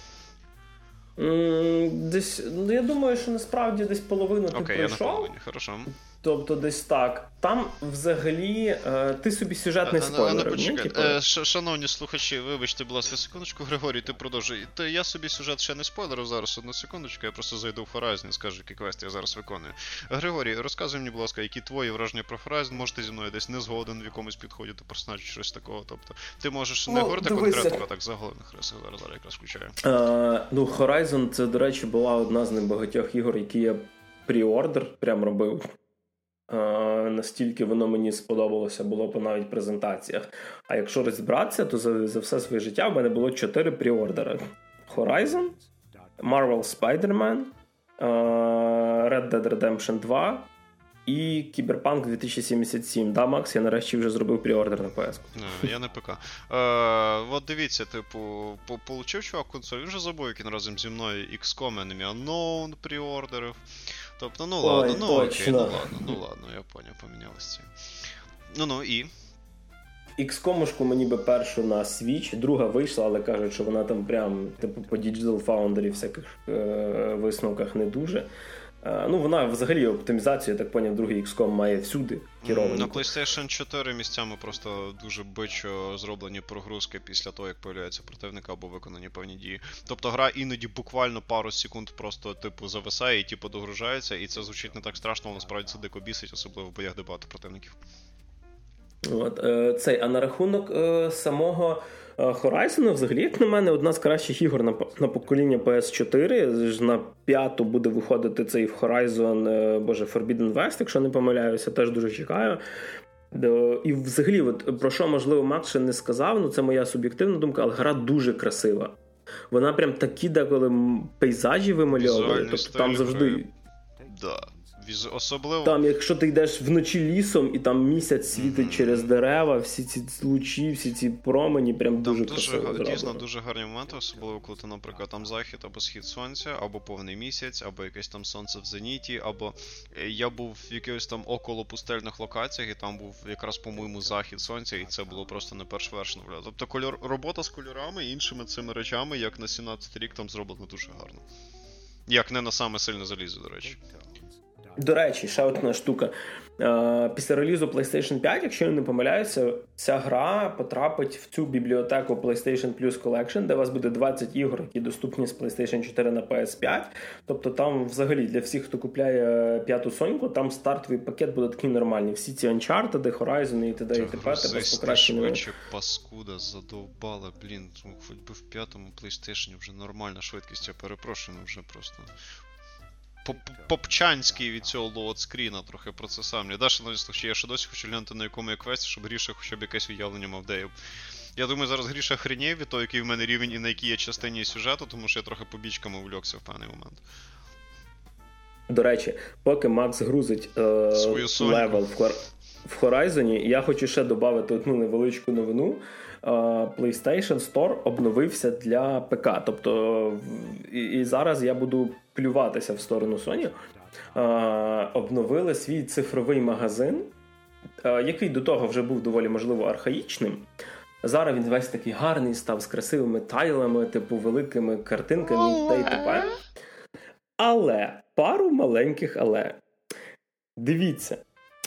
Десь, я думаю, що насправді десь половину ти пройшов. Окей, я на половині, хорошо. Тобто десь так. Там взагалі ти собі сюжет не спойлерив. Шановні слухачі, вибачте, будь ласка, секундочку, Григорій, ти продовжуй. Я собі сюжет ще не спойлерив зараз, одну секундочку, я просто зайду в Horizon і скажу, який квест я зараз виконую. Григорій, розказуй мені, будь ласка, які твої враження про Horizon, може ти зі мною десь не згоден в якомусь підході до персонажів, щось такого, тобто ти можеш не говорити конкретно, а так заголовних рисах, зараз якраз включаю. Horizon, це, до речі, була одна з небагатьох ігор, які я прі-ордер прям робив. Настільки воно мені сподобалося було по навіть презентаціях. А якщо розібратися, то за все своє життя в мене було 4 пріордери. Horizon, Marvel Spider-Man, Red Dead Redemption 2 і Cyberpunk 2077. Да, Макс, я нарешті вже зробив пріордер на PS. Я не ПК. От дивіться, получив чувак консоль, він вже забув, як він разом зі мною XCOM Enemy Unknown пріордерив. Тобто, ладно, окей, ладно, я поняв, помінялися. І? XCOM-шку мені би першу на Switch, друга вийшла, але кажуть, що вона там прям, по Digital Foundry всяких висновках не дуже. Вона взагалі оптимізацію, я так поняв, другий XCOM має всюди керовану. На PlayStation 4 місцями просто дуже бичо зроблені прогрузки після того, як появляється противник або виконані певні дії. Тобто гра іноді буквально пару секунд просто зависає і догружається, і це звучить не так страшно, але насправді це дико бісить, особливо в боях, де багато противників. А на рахунок самого Horizon, взагалі, як на мене, одна з кращих ігор на покоління PS4. На 5-ту буде виходити цей Horizon, Forbidden West, якщо не помиляюся, теж дуже чекаю. І взагалі, про що, можливо, Макс ще не сказав, це моя суб'єктивна думка, але гра дуже красива. Вона прям такі деколи пейзажі вимальовує, тобто там завжди... Да. Особливо... Там, якщо ти йдеш вночі лісом, і там місяць світить через дерева, всі ці лучі, всі ці промені, прям дуже красиво зроблено. Дійсно, дуже гарні моменти, особливо коли ти, наприклад, там захід або схід сонця, або повний місяць, або якесь там сонце в зеніті, або я був в якихось там около пустельних локаціях, і там був якраз, по-моєму, захід сонця, і це було просто не першвершно. Тобто робота з кольорами і іншими цими речами, як на 17 рік, там зроблено дуже гарно. Як не на саме сильне залізо, до речі. До речі, ще одна штука. Після релізу PlayStation 5, якщо я не помиляюся, ця гра потрапить в цю бібліотеку PlayStation Plus Collection, де у вас буде 20 ігор, які доступні з PlayStation 4 на PS5. Тобто там взагалі для всіх, хто купляє п'яту Соньку, там стартовий пакет буде такий нормальний. Всі ці Uncharted, Horizon і т.д. і т.п. З швидше паскуда задовбала, блін. Хоч би в п'ятому PlayStation вже нормальна швидкість, я перепрошую, вже просто... Попчанський від цього лоудскріна трохи про це сам. Не даш, що я ще досі хочу глянути на якому я квесті, щоб Гріша хоча б якесь уявлення мав, де я. Я думаю, зараз Гріша хренєв від того, який в мене рівень і на якій я частині сюжету, тому що я трохи побічками увлікся в певний момент. До речі, поки Макс грузить левел в Horizon, я хочу ще додати одну невеличку новину. PlayStation Store обновився для ПК. Тобто, і зараз я буду плюватися в сторону Sony. Обновили свій цифровий магазин, який до того вже був доволі, можливо, архаїчним. Зараз він весь такий гарний став, з красивими тайлами, типу, великими картинками та й т.п. Але, пару маленьких але. Дивіться.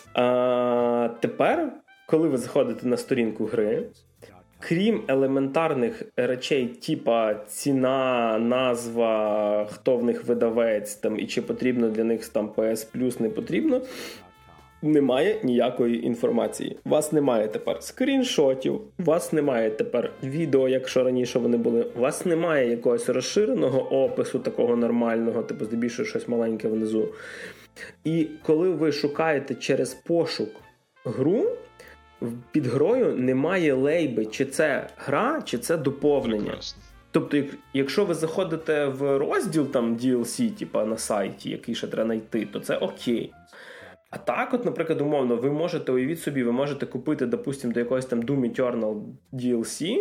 Тепер, коли ви заходите на сторінку гри, крім елементарних речей, типа ціна, назва, хто в них видавець, там, і чи потрібно для них там PS Plus, не потрібно, немає ніякої інформації. У вас немає тепер скріншотів, у вас немає тепер відео, якщо раніше вони були, у вас немає якогось розширеного опису такого нормального, типу здебільшого щось маленьке внизу. І коли ви шукаєте через пошук гру, під грою немає лейби, чи це гра, чи це доповнення. Прекрасно. Тобто, якщо ви заходите в розділ там DLC, типа на сайті, який ще треба знайти, то це окей. А так, от, наприклад, умовно, ви можете, уявіть собі, ви можете купити, допустим, до якогось там Doom Eternal DLC,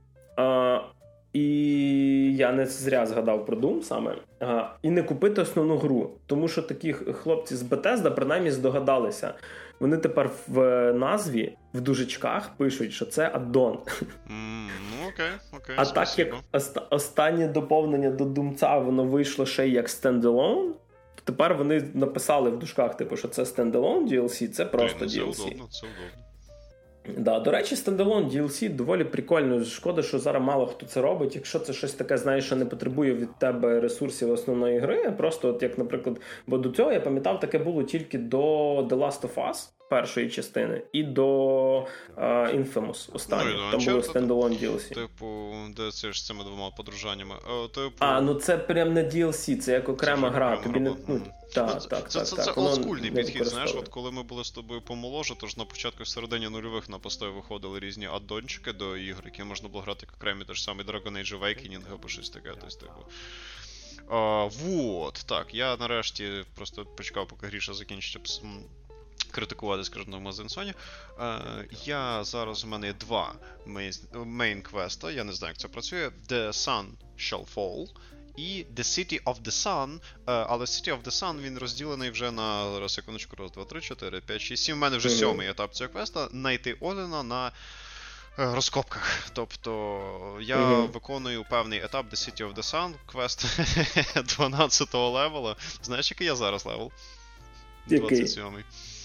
і я не зря згадав про Doom саме, і не купити основну гру. Тому що такі хлопці з Bethesda принаймні здогадалися. Вони тепер в назві, в дужечках пишуть, що це аддон. Окей. А так як останнє доповнення до Думця, воно вийшло ще й як стендалон, то тепер вони написали в дужках, типу, що це стендалон DLC, це просто DLC. Це удобно. Да, до речі, стендалон DLC доволі прикольно. Шкода, що зараз мало хто це робить. Якщо це щось таке, знаєш, що не потребує від тебе ресурсів основної гри, просто от як, наприклад, бо до цього, я пам'ятав, таке було тільки до The Last of Us першої частини і до Infamous останнього. Там було стендалон DLC. Типу, де це ж з цими двома подружаннями? Ну це прям не DLC, це як окрема гра. Тобі не... Це олдскульний підхід, знаєш, от коли ми були з тобою помоложе, тож на початку в середині нульових на постої виходили різні аддончики до ігр, які можна було грати як окремі, той ж самий Dragon Age Awakening або щось таке, вот, так, я нарешті просто почекав, поки Гріша закінчить критикувати, скажімо, на магазин Sony. Я зараз, у мене є два мейн-квеста, я не знаю, як це працює. The Sun Shall Fall і The City of the Sun, але City of the Sun, він розділений вже на, зараз, секундочку, 1, 2, 3, 4, 5, 6, 7, у мене вже 7-й етап цього квеста, знайти Одина на розкопках. Тобто я виконую певний етап The City of the Sun, квест 12-го левела. Знаєш, який я зараз левел? 27-й.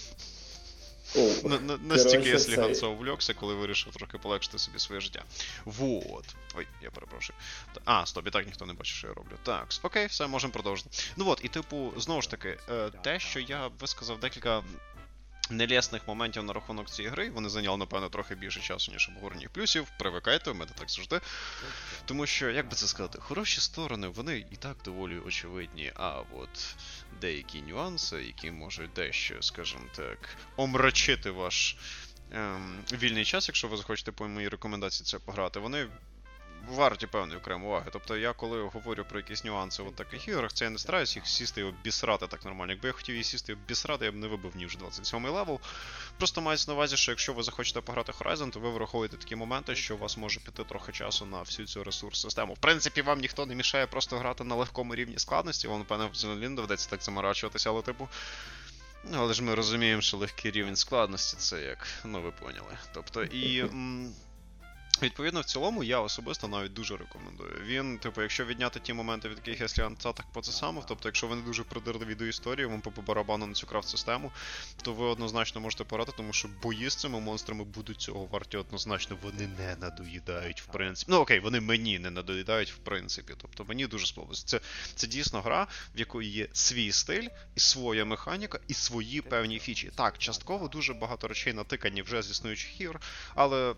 Настільки я сліганцо увлекся, коли вирішив трохи полегшити собі своє життя. Вот. Ой, я перепрошую. Стоп, і так ніхто не бачить, що я роблю. Так, окей, все, можемо продовжити. Ну от, і типу, знову ж таки, те, що я висказав декілька нелесних моментів на рахунок цієї гри, вони зайняли, напевно, трохи більше часу, ніж обговорення плюсів. Привикайте, в мене так завжди. Тому що, як би це сказати, хороші сторони, вони і так доволі очевидні, а от деякі нюанси, які можуть дещо, скажімо так, омрачити ваш вільний час, якщо ви захочете по моїй рекомендації це пограти, вони варті певної окремої уваги. Тобто я, коли говорю про якісь нюанси в таких іграх, це я не стараюсь їх сісти і обісрати так нормально. Якби я хотів її сісти і обісрати, я б не вибив ні вже 27-й левел. Просто мається на увазі, що якщо ви захочете пограти Horizon, то ви враховуєте такі моменти, що у вас може піти трохи часу на всю цю ресурс-систему. В принципі, вам ніхто не мішає просто грати на легкому рівні складності, вам, напевно, в Xenoblade доведеться так заморачуватися, але типу... Але ж ми розуміємо, що легкий рівень складності це як, ви поняли. Тобто, і... Відповідно, в цілому, я особисто навіть дуже рекомендую. Він, типу, якщо відняти ті моменти, від яких я слід так по це саме, тобто, якщо ви не дуже придирливі до історії, вам по барабану на цю крафт-систему, то ви однозначно можете порати, тому що бої з цими монстрами будуть цього варті однозначно, вони не надоїдають, в принципі. Ну, окей, вони мені не надоїдають, в принципі. Тобто, мені дуже сподобалося. Це дійсно гра, в якої є свій стиль, і своя механіка, і свої певні фічі. Так, частково дуже багато речей натикані вже з існуючих ігор, але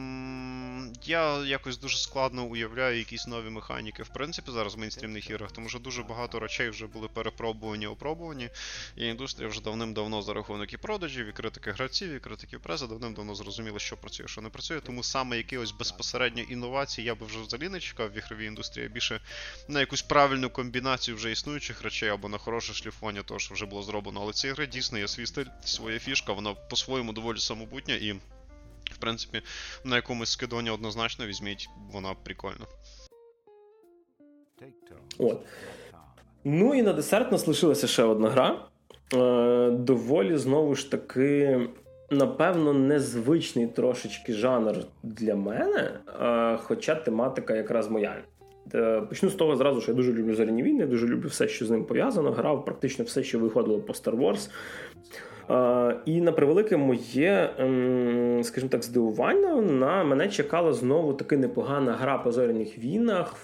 я якось дуже складно уявляю якісь нові механіки, в принципі, зараз в мейнстрімних іграх, тому що дуже багато речей вже були перепробувані, опробувані, і індустрія вже давним-давно за рахунок і продажів, і критики гравців, і критиків преси давним-давно зрозуміли, що працює, що не працює, тому саме якихось безпосередньо інновацій я би вже взагалі не чекав в ігровій індустрії, більше на якусь правильну комбінацію вже існуючих речей, або на хороше шліфування того, що вже було зроблено, але ці гри дійсно є свій стиль, своя фішка, вона по-своєму доволі самобутня, і в принципі, на якомусь скидоні однозначно візьміть, вона прикольна. От. Ну і на десерт нас лишилася ще одна гра. Доволі, знову ж таки, напевно, незвичний трошечки жанр для мене, хоча тематика якраз моя. Почну з того зразу, що я дуже люблю «Зоряні війни», дуже люблю все, що з ним пов'язано, грав практично все, що виходило по Star Wars. І на превелике моє, скажімо так, здивування, на мене чекала знову таки непогана гра по «Зоряних війнах»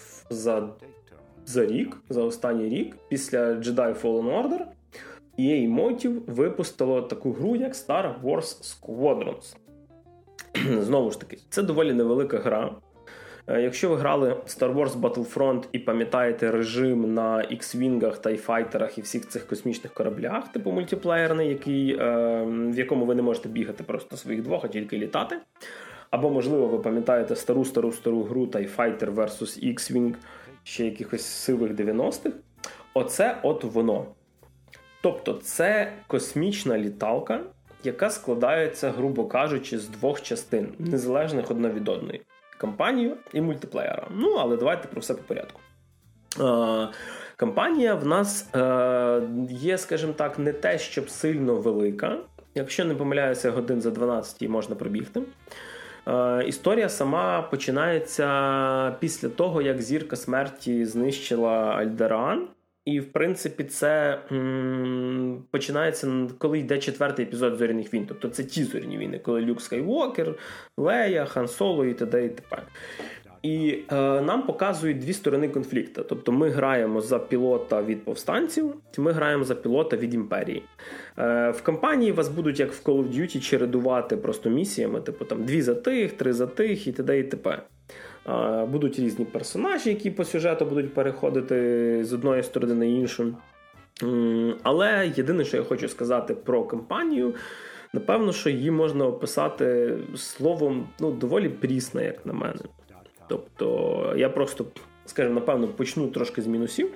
за рік, за останній рік, після Jedi Fallen Order. EA Motive випустило таку гру, як Star Wars Squadrons. Знову ж таки, це доволі невелика гра. Якщо ви грали Star Wars Battlefront і пам'ятаєте режим на X-Wing'ах, TIE-файтерах і всіх цих космічних кораблях, типу мультиплеєрний, в якому ви не можете бігати просто своїх двох, а тільки літати. Або, можливо, ви пам'ятаєте стару гру TIE-Fighter vs. X-Wing ще якихось сивих 90-х. Оце от воно. Тобто це космічна літалка, яка складається, грубо кажучи, з двох частин, незалежних одна від одної. Кампанію і мультиплеєра. Ну, але давайте про все по порядку. Кампанія в нас є, скажімо так, не те, щоб сильно велика. Якщо не помиляюся, годин за 12 її можна пробігти. Історія сама починається після того, як Зірка Смерті знищила Альдеран. І, в принципі, це починається, коли йде 4-й епізод «Зоряних війн». Тобто це ті «Зоряні війни», коли Люк Скайуокер, Лея, Хан Соло і т.д. і т.п. І нам показують дві сторони конфлікту. Тобто ми граємо за пілота від повстанців, ми граємо за пілота від імперії. В кампанії вас будуть, як в Call of Duty, чередувати просто місіями, типу там 2 за тих, 3 за тих і т.д. і т.п. Будуть різні персонажі, які по сюжету будуть переходити з одної сторони на іншу. Але єдине, що я хочу сказати про кампанію, напевно, що її можна описати словом, доволі прісне, як на мене. Тобто, я просто, скажімо, напевно, почну трошки з мінусів.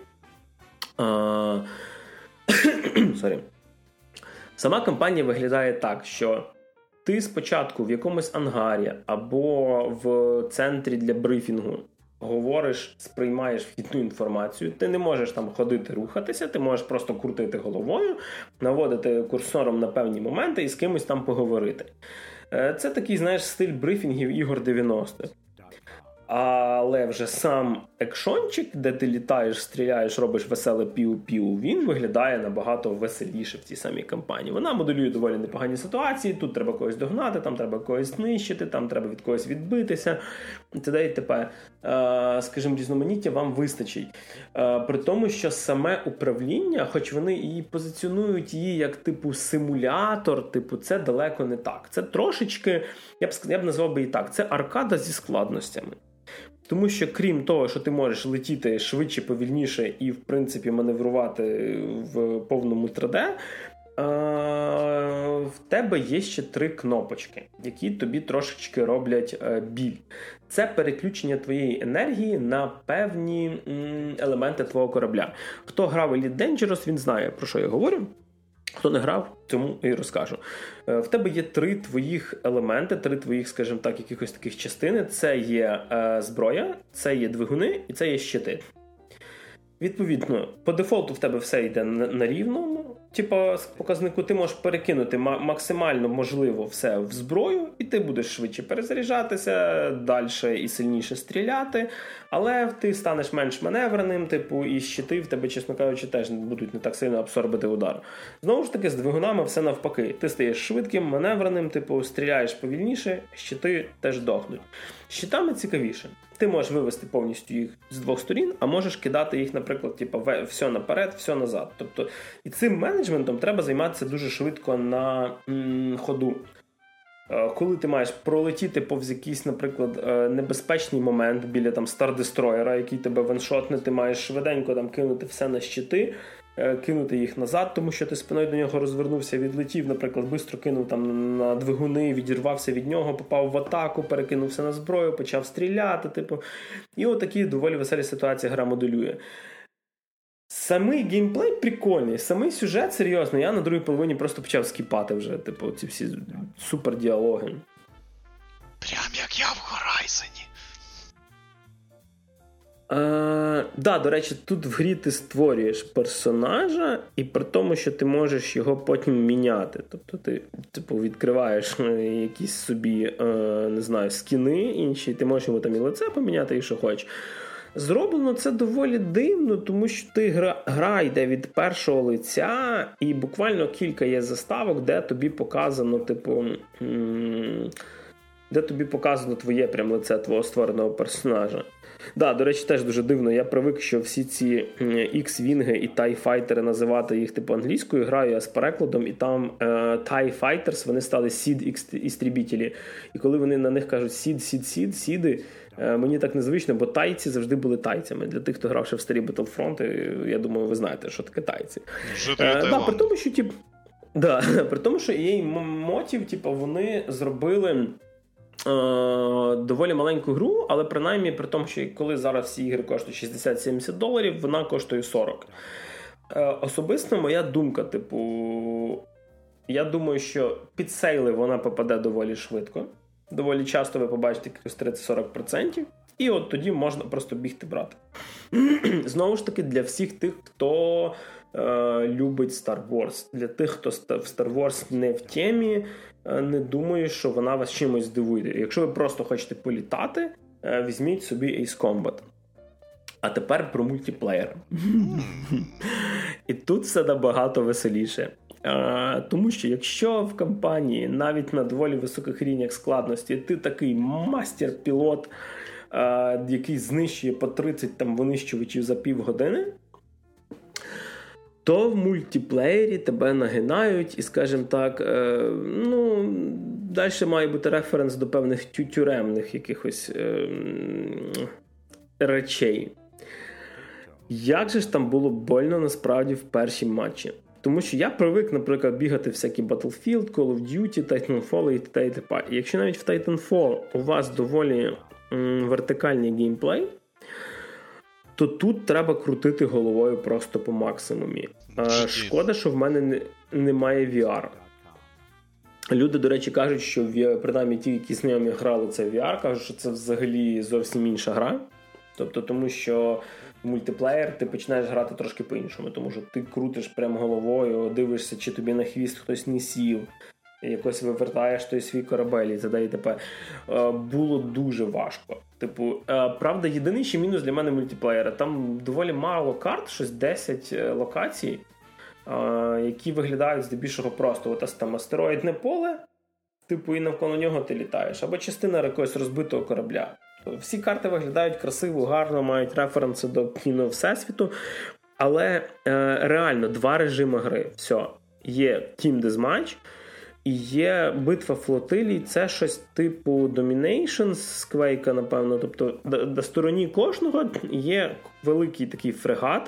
Сама кампанія виглядає так, що ти спочатку в якомусь ангарі або в центрі для брифінгу говориш, сприймаєш вхідну інформацію, ти не можеш там ходити, рухатися, ти можеш просто крутити головою, наводити курсором на певні моменти і з кимось там поговорити. Це такий, знаєш, стиль брифінгів ігор 90-х. Але вже сам екшончик, де ти літаєш, стріляєш, робиш веселе піу-піу, він виглядає набагато веселіше в цій самій кампанії. Вона моделює доволі непогані ситуації, тут треба когось догнати, там треба когось знищити, там треба від когось відбитися, т.д. і т.п. Скажімо, різноманіття вам вистачить. При тому, що саме управління, хоч вони і позиціонують її як типу симулятор, типу це далеко не так. Це трошечки, я б назвав би і так, це аркада зі складностями. Тому що крім того, що ти можеш летіти швидше, повільніше і, в принципі, маневрувати в повному 3D, в тебе є ще 3 кнопочки, які тобі трошечки роблять біль. Це переключення твоєї енергії на певні елементи твого корабля. Хто грав Elite Dangerous, він знає, про що я говорю. Хто не грав, цьому і розкажу. В тебе є 3 твоїх елементи, 3 твоїх, скажімо так, якихось таких частини. Це є зброя, це є двигуни і це є щити. Відповідно, по дефолту в тебе все йде на рівному. типу, з показнику ти можеш перекинути максимально можливо все в зброю, і ти будеш швидше перезаряджатися, далі і сильніше стріляти, але ти станеш менш маневреним, типу, і щити в тебе, чесно кажучи, теж будуть не так сильно абсорбити удар. Знову ж таки, з двигунами все навпаки. Ти стаєш швидким, маневреним, типу, стріляєш повільніше, щити теж дохнуть. Щитами цікавіше. Ти можеш вивести повністю їх з двох сторін, а можеш кидати їх, наприклад, типу, все наперед, все назад. Тобто, і цим менеджментом треба займатися дуже швидко на ходу. Коли ти маєш пролетіти повз якийсь, наприклад, небезпечний момент біля там Стар-Дестройера, який тебе ваншотне, ти маєш швиденько там кинути все на щити, кинути їх назад, тому що ти спиною до нього розвернувся, відлетів, наприклад, швидко кинув там на двигуни, відірвався від нього, попав в атаку, перекинувся на зброю, почав стріляти, типу. І отакі доволі веселі ситуації гра моделює. Самий геймплей прикольний, самий сюжет, серйозно, я на другій половині просто почав скіпати вже, типу, ці всі супер діалоги. Прям як я в Horizon. Да, до речі, тут в грі ти створюєш персонажа, і при тому, що ти можеш його потім міняти. Тобто ти, типу, відкриваєш якісь собі, не знаю, скіни інші, ти можеш йому там і лице поміняти, і що хочеш. Зроблено це доволі дивно, тому що гра йде від першого лиця, і буквально кілька є заставок, де тобі показано, типу, де тобі показано твоє прям лице твого створеного персонажа. Да, до речі, теж дуже дивно. Я привик, що всі ці X-Wing і TIE Fighter називати їх типу англійською, граю я з перекладом, і там TIE Fighters, вони стали SID-істрібітелі. І коли вони на них кажуть SID, мені так незвично, бо тайці завжди були тайцями. Для тих, хто грав ще в старі Battlefront, я думаю, ви знаєте, що таке тайці. При тому, що при тому, що EA Motive, типу, вони зробили доволі маленьку гру, але принаймні при тому, що коли зараз всі ігри коштують $60-70, вона коштує $40. Особисто моя думка, типу, я думаю, що під сейли вона попаде доволі швидко. Доволі часто ви побачите якихось 30-40%, і от тоді можна просто бігти брати. Знову ж таки, для всіх тих, хто любить Star Wars, для тих, хто в Star Wars не в темі, не думаю, що вона вас чимось здивує. Якщо ви просто хочете політати, візьміть собі Ace Combat. А тепер про мультиплеєр. І тут все набагато веселіше. Тому що якщо в кампанії навіть на доволі високих рівнях складності ти такий мастер-пілот, який знищує по 30 там винищувачів за півгодини, то в мультиплеєрі тебе нагинають і, скажімо так, далі має бути референс до певних тюремних якихось речей. Як же ж там було больно насправді в першій матчі? Тому що я привик, наприклад, бігати всякі Battlefield, Call of Duty, Titanfall і т.д. І якщо навіть в Titanfall у вас доволі вертикальний геймплей, то тут треба крутити головою просто по максимумі. Шкода, що в мене немає VR. Люди, до речі, кажуть, що принаймні ті, які знайомі грали це VR, кажуть, що це взагалі зовсім інша гра. Тобто, тому що в мультиплеєр ти починаєш грати трошки по-іншому, тому що ти крутиш прямо головою, дивишся, чи тобі на хвіст хтось не сів, якось вивертаєш той свій корабель і т.д. і т.п. Було дуже важко. Типу, правда, єдиний ще мінус для мене мультиплеєра. Там доволі мало карт, щось 10 локацій, які виглядають здебільшого просто. Ось там астероїдне поле, типу, і навколо нього ти літаєш. Або частина якогось розбитого корабля. Всі карти виглядають красиво, гарно, мають референси до кіно всесвіту. Але реально, 2 режими гри. Все. Є Team Deathmatch, і є битва флотилій, це щось типу Domination з Quake, напевно. Тобто на стороні кожного є великий такий фрегат,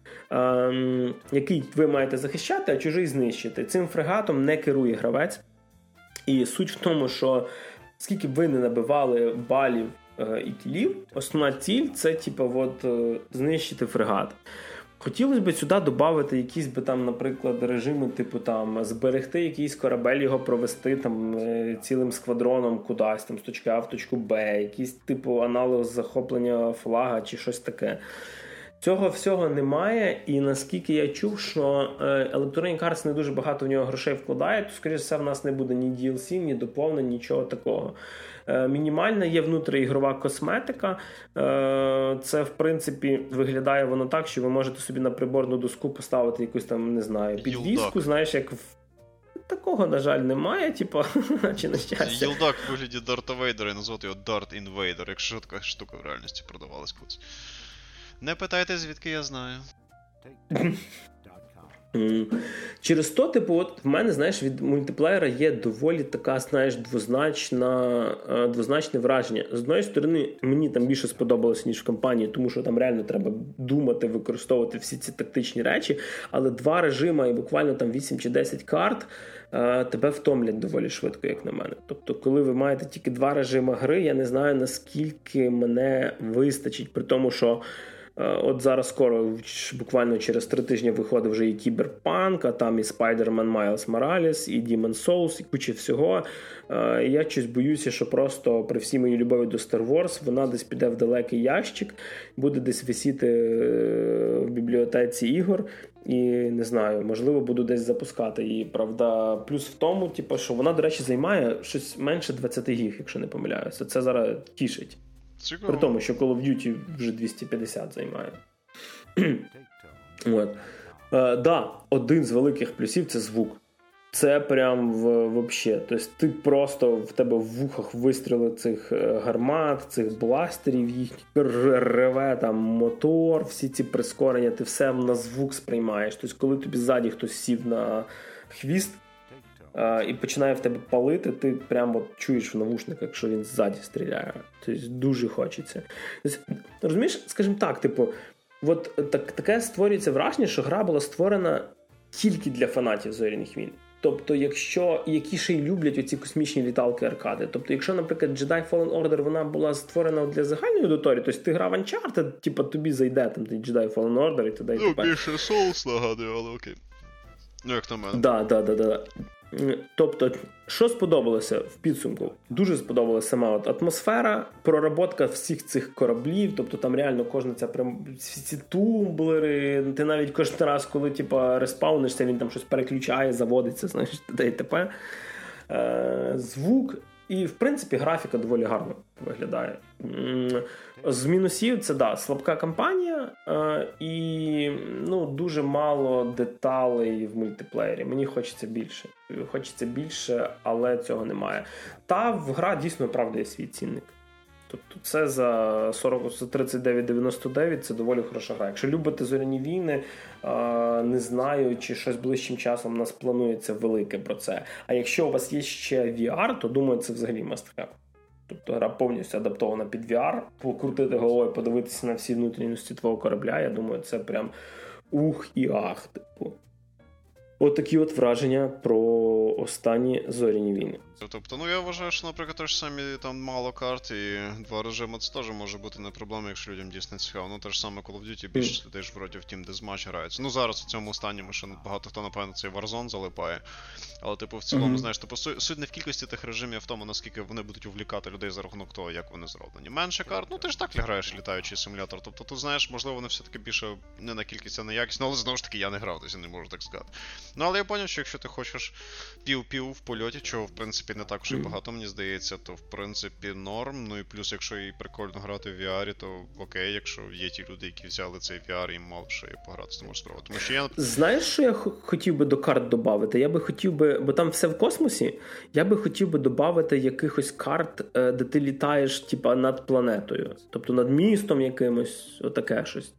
який ви маєте захищати, а чужий знищити. Цим фрегатом не керує гравець. І суть в тому, що скільки б ви не набивали балів і кілів, основна ціль – це типу, знищити фрегат. Хотілося б сюди додати якісь би там, наприклад, режими, типу там зберегти якийсь корабель, його провести там цілим сквадроном кудись, там з точки А в точку Б, якийсь типу аналог захоплення флага чи щось таке. Цього всього немає, і наскільки я чув, що Electronic Arts не дуже багато в нього грошей вкладає, то, скоріше все, в нас не буде ні DLC, ні доповнень, нічого такого. Мінімальна є внутріігрова косметика. Це, в принципі, виглядає воно так, що ви можете собі на приборну доску поставити якусь там, не знаю, підвіску, знаєш, як такого, на жаль, немає, типу, чи на щастя. Їлдак в вигляді Дарта Вейдера і назвати його Дарт Інвейдер, якщо така штука в реальності продавалась колись. Не питайте, звідки я знаю. Через то, типу, от в мене, знаєш, від мультиплеєра є доволі така, знаєш, двозначне враження. З одної сторони, мені там більше сподобалося, ніж в кампанії, тому що там реально треба думати, використовувати всі ці тактичні речі, але 2 режими і буквально там 8 чи 10 карт тебе втомлять доволі швидко, як на мене. Тобто, коли ви маєте тільки 2 режими гри, я не знаю, наскільки мене вистачить, при тому, що от зараз скоро, буквально через 3 тижні виходить вже і Кіберпанк, а там і Spider-Man Miles Morales, і Demon's Souls, і куча всього. Я щось боюся, що просто при всій моїй любові до Star Wars вона десь піде в далекий ящик, буде десь висіти в бібліотеці ігор, і не знаю, можливо, буду десь запускати її. Правда, плюс в тому, типу, що вона, до речі, займає щось менше 20 гіг, якщо не помиляюся. Це зараз тішить. Цікаво. При тому, що Call of Duty вже 250 займає. От. Да, один з великих плюсів – це звук. Це прям вообще. Тобто ти просто, в тебе в вухах вистріли цих гармат, цих бластерів, їх реве там мотор, всі ці прискорення, ти все на звук сприймаєш. Тобто коли тобі ззаді хтось сів на хвіст, і починає в тебе палити, ти прямо чуєш в навушниках, що він ззаді стріляє. Тобто дуже хочеться. Тобто, розумієш, скажімо так, типу, от таке створюється враження, що гра була створена тільки для фанатів Зоряних війн. Тобто, які ще й люблять оці космічні літалки аркади. Тобто, якщо, наприклад, Jedi Fallen Order, вона була створена для загальної аудиторії, тобто ти грав Uncharted, типу, тобі зайде там Jedi Fallen Order і т.д. Ну, більше Souls нагадує, але окей. Ну, як на мене. Да. Тобто, що сподобалося в підсумку? Дуже сподобалася сама от атмосфера, проработка всіх цих кораблів, тобто там реально кожна ця ці тумблери, ти навіть кожен раз, коли типа респаунишся, він там щось переключає, заводиться, знаєш, т.д. Звук і, в принципі, графіка доволі гарно виглядає. З мінусів це, да, слабка кампанія і дуже мало деталей в мультиплеєрі. Мені хочеться більше, але цього немає. Гра дійсно оправдує свій цінник. Тобто це за 39,99 це доволі хороша гра. Якщо любите Зоряні війни, не знаю, чи щось ближчим часом у нас планується велике про це. А якщо у вас є ще VR, то, думаю, це взагалі must-have. Тобто гра повністю адаптована під VR, покрутити головою, подивитися на всі внутрішності твого корабля, я думаю, це прям ух і ах. Типу. Отакі от враження про останні Зоряні війни. Тобто, я вважаю, що, наприклад, те ж самі там мало карт і 2 режими, це теж може бути не проблема, якщо людям дійсно цікаво. Те ж саме Call of Duty, більше людей ж вроді в Team Deathmatch граються. Зараз у цьому останньому ще багато хто, напевно, цей Warzone залипає. Але, в цілому, знаєш, суть не в кількості тих режимів, а в тому, наскільки вони будуть увлікати людей за рахунок того, як вони зроблені. Менше карт, ти ж так граєш літаючий симулятор. Тобто, тут, знаєш, можливо, вони все-таки більше не на кількість, а на якість. Але, знову ж таки, я не грав, тобто я не можу так сказати. Але я зрозумів, що якщо ти хочеш пів-пів в польоті, чого, в принципі, не так уж і багато, мені здається, то, в принципі, норм. І плюс, якщо і прикольно грати в VR, то окей, якщо є ті люди, які взяли цей VR і мало що і пограти, то можеш спробувати. Тому що я... Знаєш, що я хотів би до карт додати? Я би хотів би, бо там все в космосі, я би хотів би додати якихось карт, де ти літаєш, типа, над планетою. Тобто над містом якимось, отаке щось.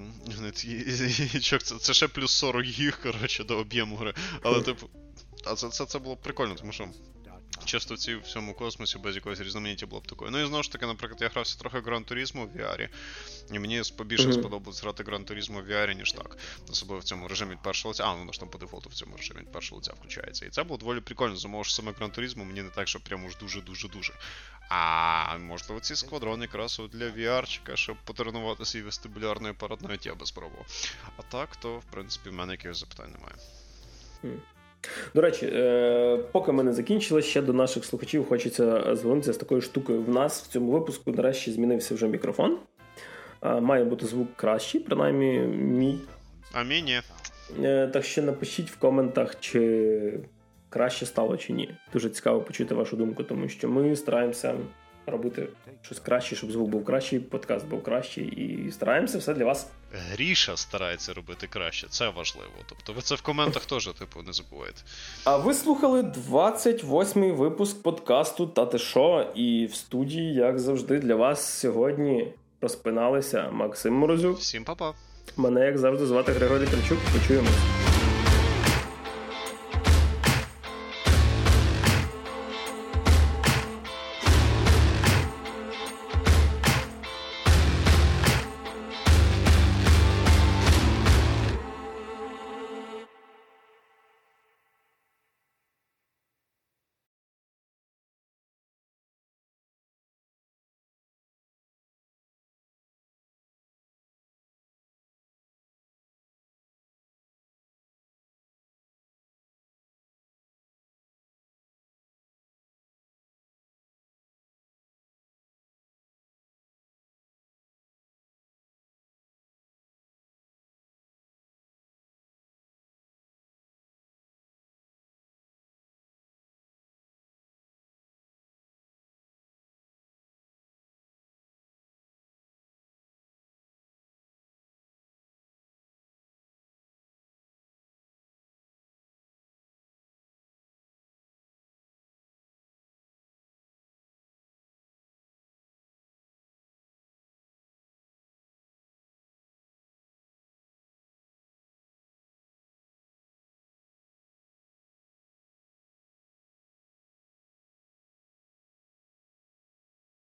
Це ще плюс 40 гіг, коротше, до об'єму гри. Але, це було б прикольно, тому що часто в цьому космосі без якогось різноманіття було б такою. І знову ж таки, наприклад, я грався трохи Gran Turismo в VR, і мені побільше сподобалось грати Gran Turismo в VR, ніж так. Особливо в цьому режимі від першого лиця. Воно ж там по дефолту в цьому режимі від першого лиця включається. І це було доволі прикольно, замовив, що саме Gran Turismo мені не так, що прямо ж дуже-дуже-дуже. А можливо, ці сквадрони якраз для VR-чика, щоб потренувати свій вестибулярний апарат, навіть я би спробував. А так, то, в принципі, в мене якихось запитань немає. До речі, поки ми не закінчили, ще до наших слухачів хочеться звернутися з такою штукою. В нас в цьому випуску, нарешті, змінився вже мікрофон. має бути звук кращий, принаймні мій. А мій ні. Так що напишіть в коментах, чи краще стало, чи ні. Дуже цікаво почути вашу думку, тому що ми стараємося робити щось краще, щоб звук був кращий, подкаст був кращий, і стараємося все для вас. Гріша старається робити краще, це важливо. Тобто ви це в коментах теж, не забувайте. А ви слухали 28-й випуск подкасту «Та ти шо?», і в студії, як завжди, для вас сьогодні розпиналися Максим Морозюк. Всім па-па. Мене, як завжди, звати Григорій Тричук. Почуємось.